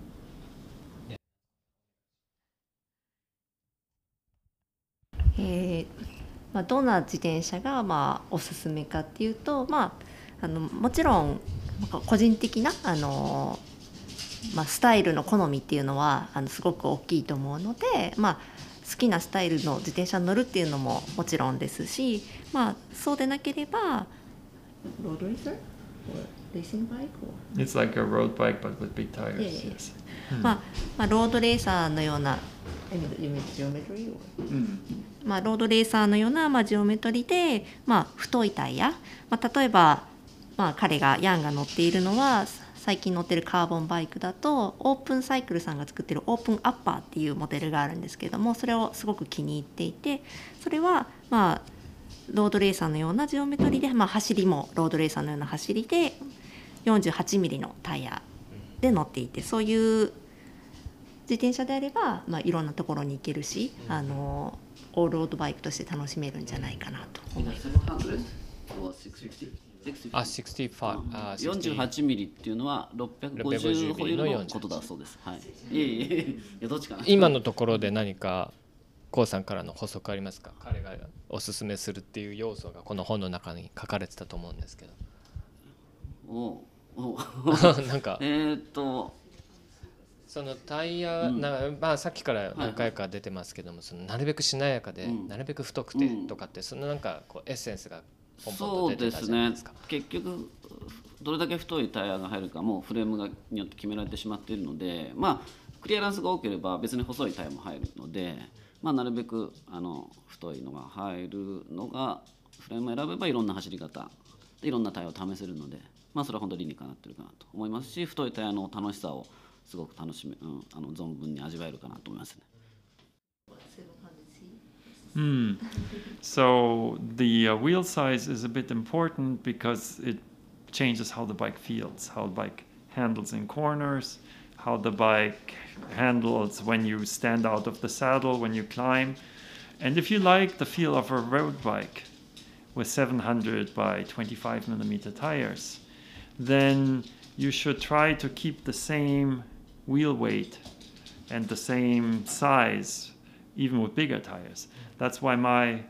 [SPEAKER 4] Yeah. どんな自転車がおすすめかっていうと、もちろん個人的なスタイルの好みっていうのはすごく大きいと思うので、好きなスタイルの自転車に乗るっていうのももちろんですし、そうでなければロードレーサー or racing bike or
[SPEAKER 2] It's like a road bike but with big tires.
[SPEAKER 4] Yeah.
[SPEAKER 2] Yes.
[SPEAKER 4] ロードレーサーのようなジオメトリーで、太いタイヤ、例えば、ヤンが乗っているのは最近乗ってるカーボンバイクだとオープンサイクルさんが作ってるオープンアッパーっていうモデルがあるんですけれども、それをすごく気に入っていて、それはロードレーサーのようなジオメトリーで、走りもロードレーサーのような走りで 48mm のタイヤで乗っていて、そういう自転車であれば、いろんなところに行けるし、オールロードバイクとして楽しめるんじゃないかなと思います。
[SPEAKER 3] 48ミリっていうのは650ホイールのことだそうです。はい。どっちかな。
[SPEAKER 1] 今のところで何かコウさんからの補足ありますか。彼がおすすめするっていう要素がこの本の中に書かれてたと思うんですけど。なんかそのタイヤ、さっきから何回か出てますけども、そのなるべくしなやかで、なるべく太くてとかって、そのなんかこうエッセンスがポンポンと出てたじゃないですか。
[SPEAKER 3] そうですね。結局どれだけ太いタイヤが入るかもフレームによって決められてしまっているので、クリアランスが多ければ別に細いタイヤも入るので、なるべく太いのが入るのがフレームを選べばいろんな走り方でいろんなタイヤを試せるので、それは本当に理にかなってるかなと思いますし、太いタイヤの楽しさをすごく楽しめ、存分に味わえるかなと思いますね。
[SPEAKER 2] So the wheel size is a bit important because it changes how the bike feels, how the bike handles in corners, how the bike handles when you stand out of the saddle, when you climb. And if you like the feel of a road bike with 700 by 25mm tires, then you should try to keep the same wheel weight and the same size, even with bigger tires. That's why my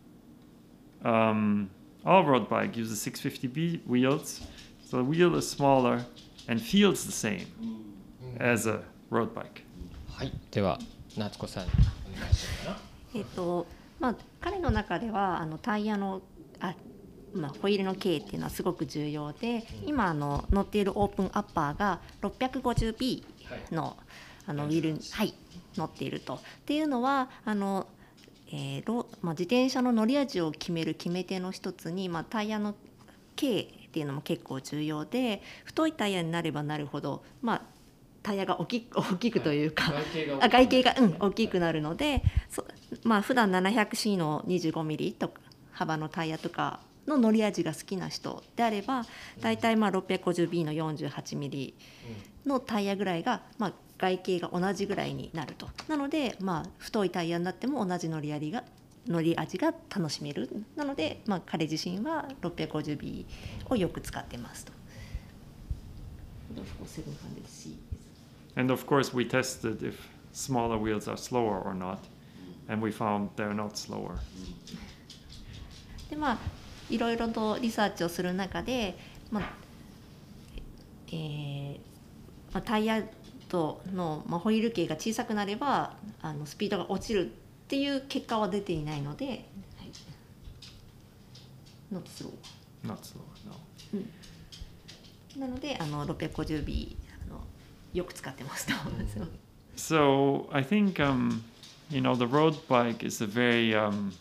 [SPEAKER 2] all-road bike uses 650B wheels. So the wheel is smaller and feels the same as a road bike.
[SPEAKER 1] はい、では夏子さんお願いしようかな。
[SPEAKER 4] 彼の中ではタイヤのホイールの径っていうのはすごく重要で、今乗っているオープンアッパーが 650B の、ウィールに、乗っていると。っていうのは自転車の乗り味を決める決め手の一つに、タイヤの径っていうのも結構重要で、太いタイヤになればなるほど、タイヤが大きくというか外径が大きくなるので、普段 700C の 25mm とか幅のタイヤとかの乗り味が好きな人であれば、だいたい 650B の 48mm のタイヤぐらいが、外径が同じぐらいになると。なので、太いタイヤになっても同じ乗り味が楽しめる。なので、彼自身は 650B をよく使ってますと。
[SPEAKER 2] And of course we tested if smaller wheels are slower or not. And we found they're not slower.
[SPEAKER 4] でいろいろとリサーチをする中で、タイヤの、ホイール径が小さくなればスピードが落ちるっていう結果は出ていないので、はい、Not slow.
[SPEAKER 2] Not slower, no.
[SPEAKER 4] なので650B よく使ってますと。
[SPEAKER 2] So I think the road bike is a very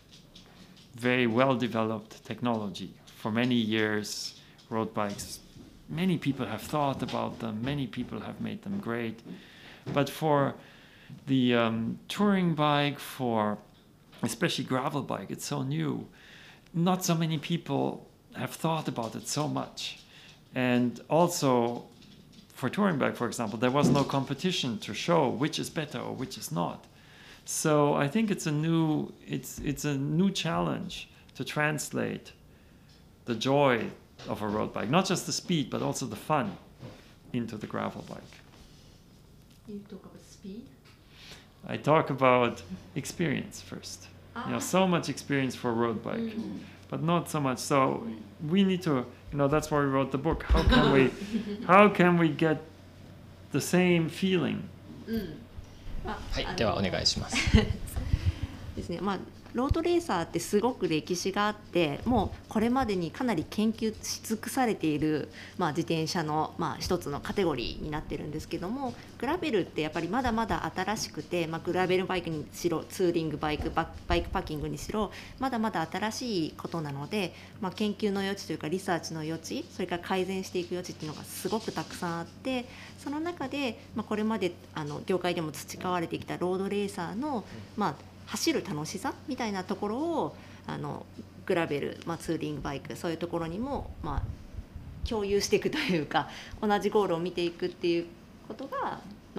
[SPEAKER 2] very well developed technology. For many years, road bikes, many people have thought about them, many people have made them great. But for the touring bike, for especially gravel bike, it's so new. Not so many people have thought about it so much. And also, for touring bike, for example, there was no competition to show which is better or which is not. So I think it's a new challenge to translate the joy of a road bike, not just the speed, but also the fun, into the gravel bike.
[SPEAKER 4] You talk about speed?
[SPEAKER 2] I talk about experience first. So much experience for a road bike, but not so much. So we need to, that's why we wrote the book. How can we get the same feeling?
[SPEAKER 1] はい、ではお願いします。
[SPEAKER 4] ですね。ロードレーサーってすごく歴史があって、もうこれまでにかなり研究し尽くされている、自転車の、一つのカテゴリーになってるんですけども、グラベルってやっぱりまだまだ新しくて、グラベルバイクにしろツーリングバイクパッキングにしろまだまだ新しいことなので、研究の余地というかリサーチの余地、それから改善していく余地っていうのがすごくたくさんあって、その中で、これまで業界でも培われてきたロードレーサーの、走る楽しさみたいなところをグラベル、ツーリングバイク、そういうところにも、共有していくというか、同じゴールを見ていくっていうことが、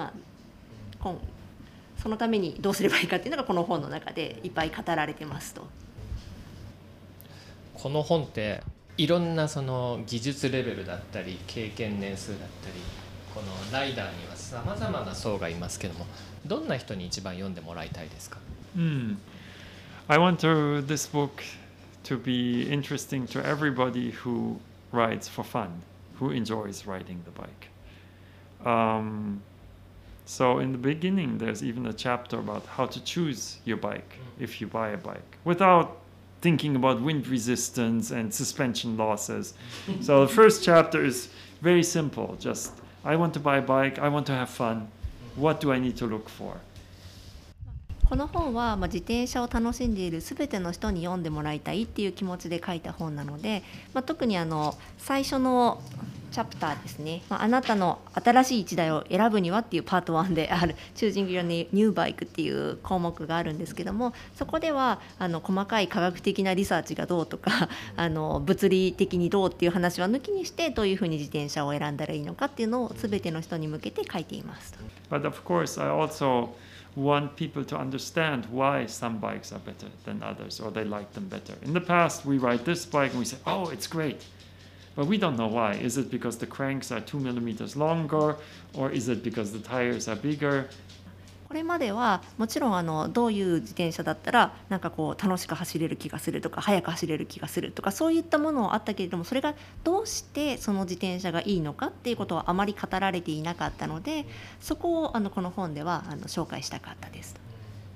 [SPEAKER 4] そのためにどうすればいいかっていうのがこの本の中でいっぱい語られてますと。
[SPEAKER 1] この本っていろんなその技術レベルだったり経験年数だったり、このライダーにはさまざまな層がいますけども、どんな人に一番読んでもらいたいですか
[SPEAKER 2] ？I want this book to be interesting to everybody who rides for fun, who enjoys riding the bike. So in the beginning, there's even a chapter about how to choose your bike if you buy a bike, without thinking about wind resistance and suspension losses. So the first chapter is very simple. Just, I want to buy a bike, I want to have fun. What do I need to look for?
[SPEAKER 4] この本は、自転車を楽しんでいるすべての人に読んでもらいたいっていう気持ちで書いた本なので、特に最初のチャプターですね、あなたの新しい一台を選ぶにはっていうパート1である Choosing Your New Bike っていう項目があるんですけども、そこでは細かい科学的なリサーチがどうとか物理的にどうっていう話は抜きにして、どういうふうに自転車を選んだらいいのかっていうのをすべての人に向けて書いています。
[SPEAKER 2] But of course, I also want people to understand why some bikes are better than others, or they like them better. In the past, we ride this bike and we say, oh, it's great. But we don't know why. Is it because the cranks are 2 millimeters longer, or is it because the tires are bigger?
[SPEAKER 4] これまではもちろんどういう自転車だったら楽しく走れる気がするとか速く走れる気がするとか、そういったものはあったけれども、それがどうしてその自転車がいいのかっていうことはあまり語られていなかったので、そこをこの本では紹介したかったです。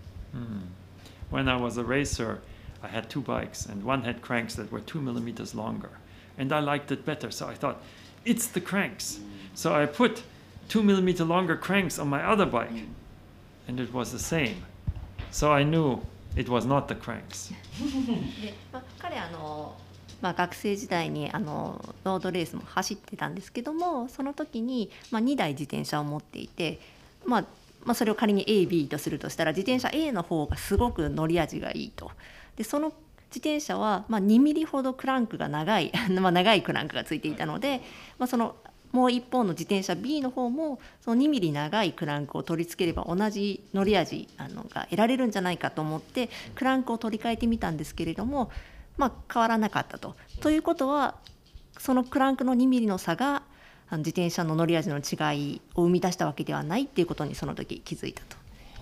[SPEAKER 2] When I was a racer, I had two bikes, and one had cranks that were 2 millimeters longer, and I liked it better. So I thought, it's the cranks. So I put 2 millimeter longer cranks on my other bike.And it was the same. So I knew it was not the cranks.
[SPEAKER 4] で彼学生時代にロードレースも走ってたんですけども、その時に、2台自転車を持っていて、それを仮に A、B とするとしたら、自転車 A の方がすごく乗り味がいいと。でその自転車は、2ミリほどクランクが長い長いクランクがついていたので、そのもう一方の自転車 B の方もその2ミリ長いクランクを取り付ければ同じ乗り味が得られるんじゃないかと思ってクランクを取り替えてみたんですけれども、変わらなかったと。ということは、そのクランクの2ミリの差が自転車の乗り味の違いを生み出したわけではないっていうことにその時気づいたと。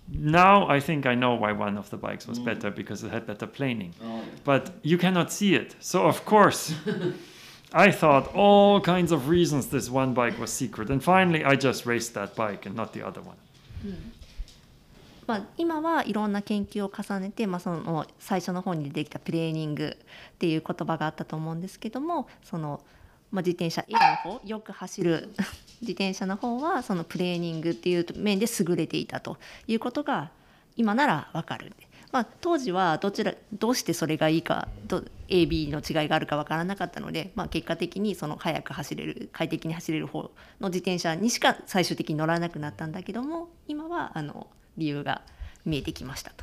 [SPEAKER 2] Now I think I know why one of the bikes was better, because it had better planing. But you cannot see it. So of course, I thought all kinds of reasons this one bike was secret. And finally, I just raced that bike and not the other one.
[SPEAKER 4] まあ、今はいろんな研究を重ねて、まあ、その最初の方に出てきたプレーニングっていう言葉があったと思うんですけども、その、まあ、自転車 A の方、よく走る自転車の方はそのプレーニングっていう面で優れていたということが今なら分かる。まあ、当時はどうしてそれがいいかAB の違いがあるか分からなかったので、まあ、結果的にその速く走れる快適に走れる方の自転車にしか最終的に乗らなくなったんだけども、今は理由が見えてきましたと。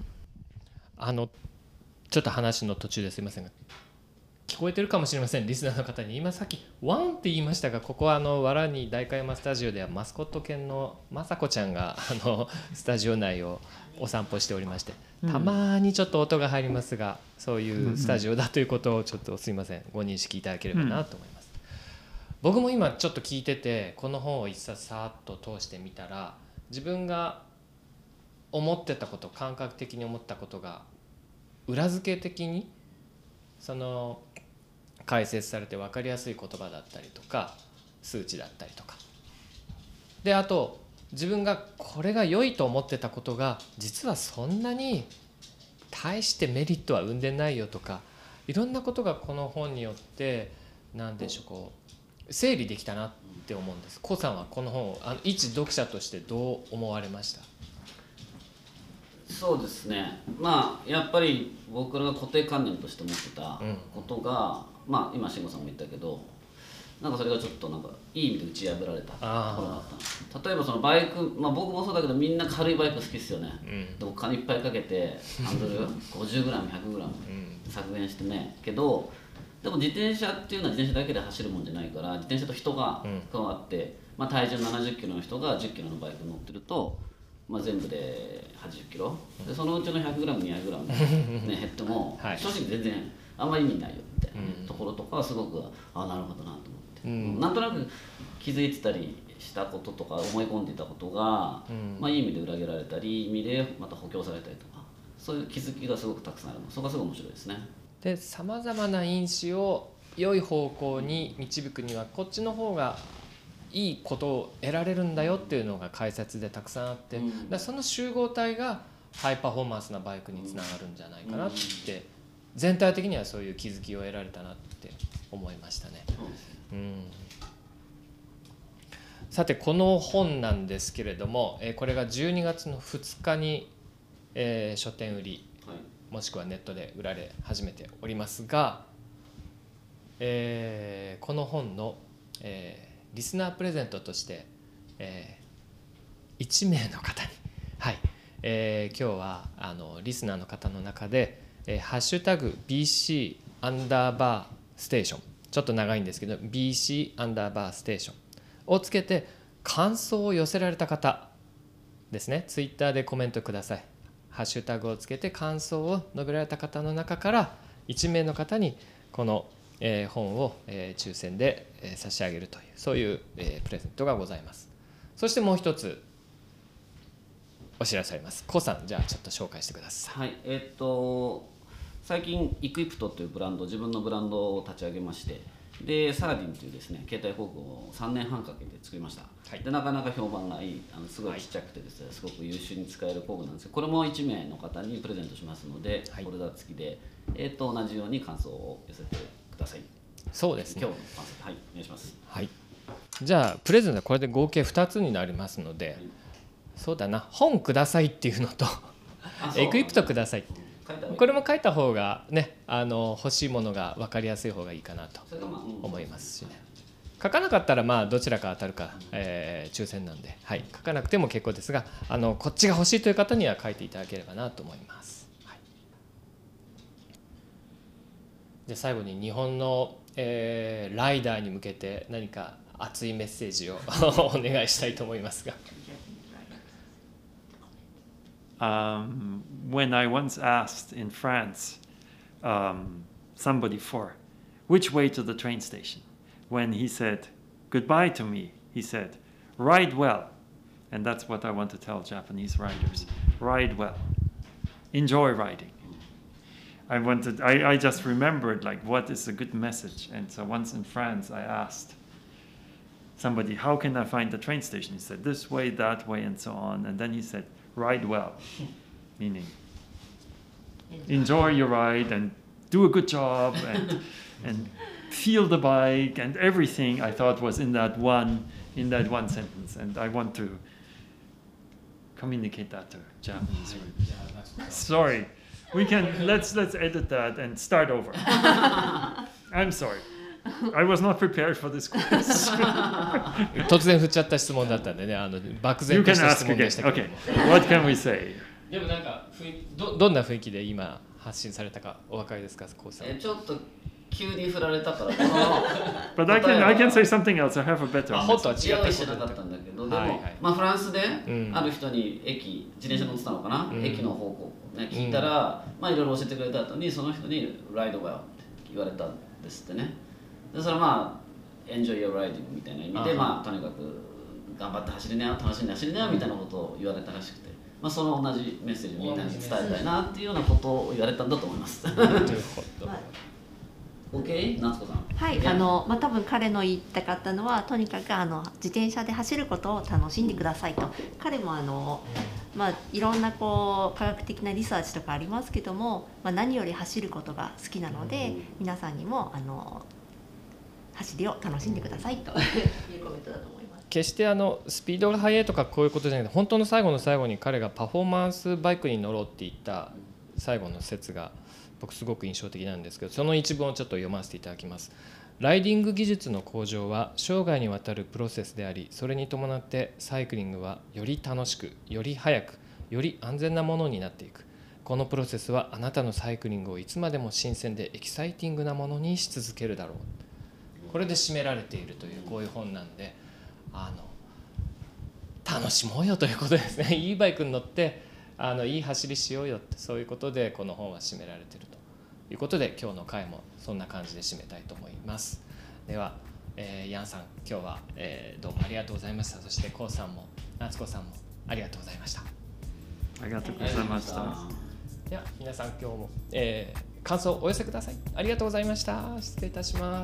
[SPEAKER 1] ちょっと話の途中ですいませんが、聞こえてるかもしれません、リスナーの方に。今さっきワンって言いましたが、ここは藁に代官山スタジオではマスコット犬のまさこちゃんがスタジオ内をお散歩しておりまして、たまにちょっと音が入りますが、そういうスタジオだということをちょっとすいません、ご認識いただければなと思います。僕も今ちょっと聞いてて、この本を一冊さーっと通してみたら、自分が思ってたこと、感覚的に思ったことが裏付け的にその解説されて分かりやすい言葉だったりとか数値だったりとかで、あと自分がこれが良いと思ってたことが実はそんなに大してメリットは生んでないよとか、いろんなことがこの本によって何でしょう、こう整理できたなって思うんです。コさんはこの本を一読者としてどう思われました？
[SPEAKER 3] そうですね、まあやっぱり僕らが固定観念として持ってたことが、まあ今慎吾さんも言ったけど、なんかそれがちょっとなんかいい意味で打ち破られたところがあったんです。例えばそのバイク、まあ僕もそうだけどみんな軽いバイク好きですよね。でお金いっぱいかけてハンドル 50g、100g 削減してね、けどでも自転車っていうのは自転車だけで走るもんじゃないから、自転車と人が加わって、まあ、体重70キロの人が10キロのバイク乗ってると、まあ、全部で80キロで、そのうちの 100g、200g、ね、減っても、正直全然あんまり意味ないよみたいなところとかはすごくなるほどなと思って、なんとなく気づいてたりしたこととか思い込んでいたことが、まあ、いい意味で裏切られたり、いい意味でまた補強されたりとか、そういう気づきがすごくたくさんあるの、そこがすごい面白いですね。
[SPEAKER 1] で、さまざまな因子を良い方向に導くにはこっちの方がいいことを得られるんだよっていうのが解説でたくさんあって、だその集合体がハイパフォーマンスなバイクにつながるんじゃないかなって、全体的にはそういう気づきを得られたなって思いましたね。さてこの本なんですけれども、これが12月の2日に、書店売りもしくはネットで売られ始めておりますが、この本の、リスナープレゼントとして、1名の方に、はい、今日はリスナーの方の中で、ハッシュタグ BC アンダーバーステーション、ちょっと長いんですけど BC アンダーバーステーションをつけて感想を寄せられた方ですね、ツイッターでコメントください。ハッシュタグをつけて感想を述べられた方の中から1名の方にこの本を抽選で差し上げるという、そういうプレゼントがございます。そしてもう一つお知らせあります。コウさん、じゃあちょっと紹介してください。
[SPEAKER 3] はい、最近イクイプトというブランド、自分のブランドを立ち上げまして、でサーディンというですね携帯工具を3年半かけて作りました。でなかなか評判がいい、すごいちっちゃくてですね、すごく優秀に使える工具なんですけど、これも1名の方にプレゼントしますので、フォルダ付きで、同じように感想を寄せてください。
[SPEAKER 1] そうですね。
[SPEAKER 3] 今日の感想、はい、お願いします。
[SPEAKER 1] はい。じゃあプレゼントはこれで合計2つになりますので、そうだな、本くださいっていうのとエクイプトください、これも書いた方がね、欲しいものが分かりやすい方がいいかなと思いますしね。書かなかったらまあどちらか当たるか、抽選なんで、はい、書かなくても結構ですが、こっちが欲しいという方には書いていただければなと思います。はい、で最後に日本の、ライダーに向けて何か熱いメッセージをお願いしたいと思いますが。
[SPEAKER 2] When I once asked in France somebody for which way to the train station, when he said goodbye to me, he said, "Ride well. And that's what I want to tell Japanese riders. Ride well. Enjoy riding. I just remembered like what is a good message. And so once in France I asked somebody, how can I find the train station? He said, this way, that way, and so on. And then he said, ride well, meaning enjoy your ride and do a good job and feel the bike and everything I thought was in that one sentence. And I want to communicate that to Japanese riders. Sorry, we can let's edit that and start over. I'm sorry. I was not prepared for this quiz.
[SPEAKER 1] 突然振っちゃった質問だったんでね、漠然
[SPEAKER 2] You
[SPEAKER 1] と
[SPEAKER 2] can
[SPEAKER 1] した質
[SPEAKER 2] ask
[SPEAKER 1] 問で
[SPEAKER 2] again.
[SPEAKER 1] したけど。
[SPEAKER 2] Okay, what can we say?
[SPEAKER 1] でもなんかどんな雰囲気で今発信されたかお分かりですか、コウさん。
[SPEAKER 3] ちょっと急に振られたから、この
[SPEAKER 2] But I can say something else. I have a better
[SPEAKER 1] 本当は
[SPEAKER 2] message.
[SPEAKER 1] 違った
[SPEAKER 3] 用意して
[SPEAKER 1] ことだった
[SPEAKER 3] なかったんだけど、でも、
[SPEAKER 1] はいはい
[SPEAKER 3] まあ、フランスで
[SPEAKER 1] うん
[SPEAKER 3] ある人に自転車乗ってたのかな、
[SPEAKER 1] うん
[SPEAKER 3] 駅の方向を、ね、聞いたら、まあいろいろ教えてくれた後にその人に「ライドが」って言われたんですってね。でそれはまあ「Enjoy your riding」みたいな意味で、まあとにかく頑張って走りなよ、楽しんで走りなよみたいなことを言われたらしくて、まあ、その同じメッセージをみんなに伝えたいなっていうようなことを言われたんだと思います。
[SPEAKER 1] なるほど。
[SPEAKER 3] OK? 夏子さん。
[SPEAKER 4] はい、多分彼の言いたかったのはとにかく自転車で走ることを楽しんでくださいと。彼もいろんな科学的なリサーチとかありますけども、何より走ることが好きなので、皆さんにも走りを楽しんでくださいというコメントだと思います。
[SPEAKER 1] 決してスピードが速いとかこういうことじゃなくて、本当の最後の最後に彼がパフォーマンスバイクに乗ろうって言った最後の説が僕すごく印象的なんですけど、その一文をちょっと読ませていただきます。ライディング技術の向上は生涯にわたるプロセスであり、それに伴ってサイクリングはより楽しく、より速く、より安全なものになっていく。このプロセスはあなたのサイクリングをいつまでも新鮮でエキサイティングなものにし続けるだろう。これで締められているというこういう本なんで、楽しもうよということですね。いいバイクに乗っていい走りしようよって、そういうことでこの本は締められているということで、今日の回もそんな感じで締めたいと思います。では、ヤンさん今日は、どうもありがとうございました。そしてコウさんも夏子さんもありがとうございました。
[SPEAKER 2] ありがとうございました。
[SPEAKER 1] では皆さん今日も、感想をお寄せください。ありがとうございました。失礼いたします。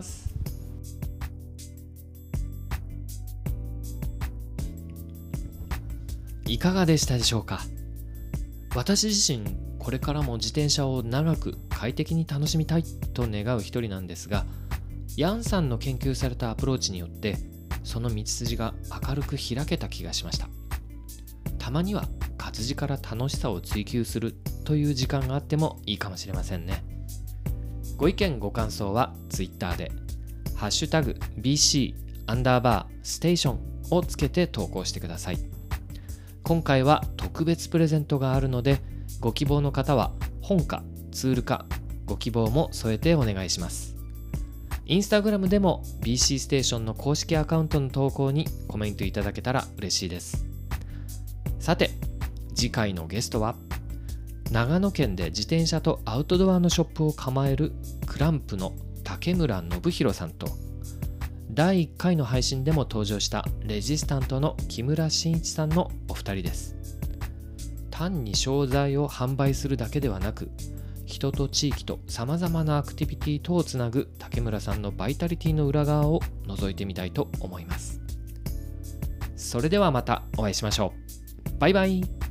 [SPEAKER 1] いかがでしたでしょうか。私自身これからも自転車を長く快適に楽しみたいと願う一人なんですが、ヤンさんの研究されたアプローチによってその道筋が明るく開けた気がしました。たまには活字から楽しさを追求するという時間があってもいいかもしれませんね。ご意見ご感想は Twitter でハッシュタグ BC_station をつけて投稿してください。今回は特別プレゼントがあるので、ご希望の方は本かツールかご希望も添えてお願いします。インスタグラムでも BC ステーションの公式アカウントの投稿にコメントいただけたら嬉しいです。さて、次回のゲストは長野県で自転車とアウトドアのショップを構えるクランプの竹村信弘さんと、第1回の配信でも登場したレジスタントの木村真一さんのお二人です。単に商材を販売するだけではなく、人と地域とさまざまなアクティビティとをつなぐ竹村さんのバイタリティの裏側を覗いてみたいと思います。それではまたお会いしましょう。バイバイ。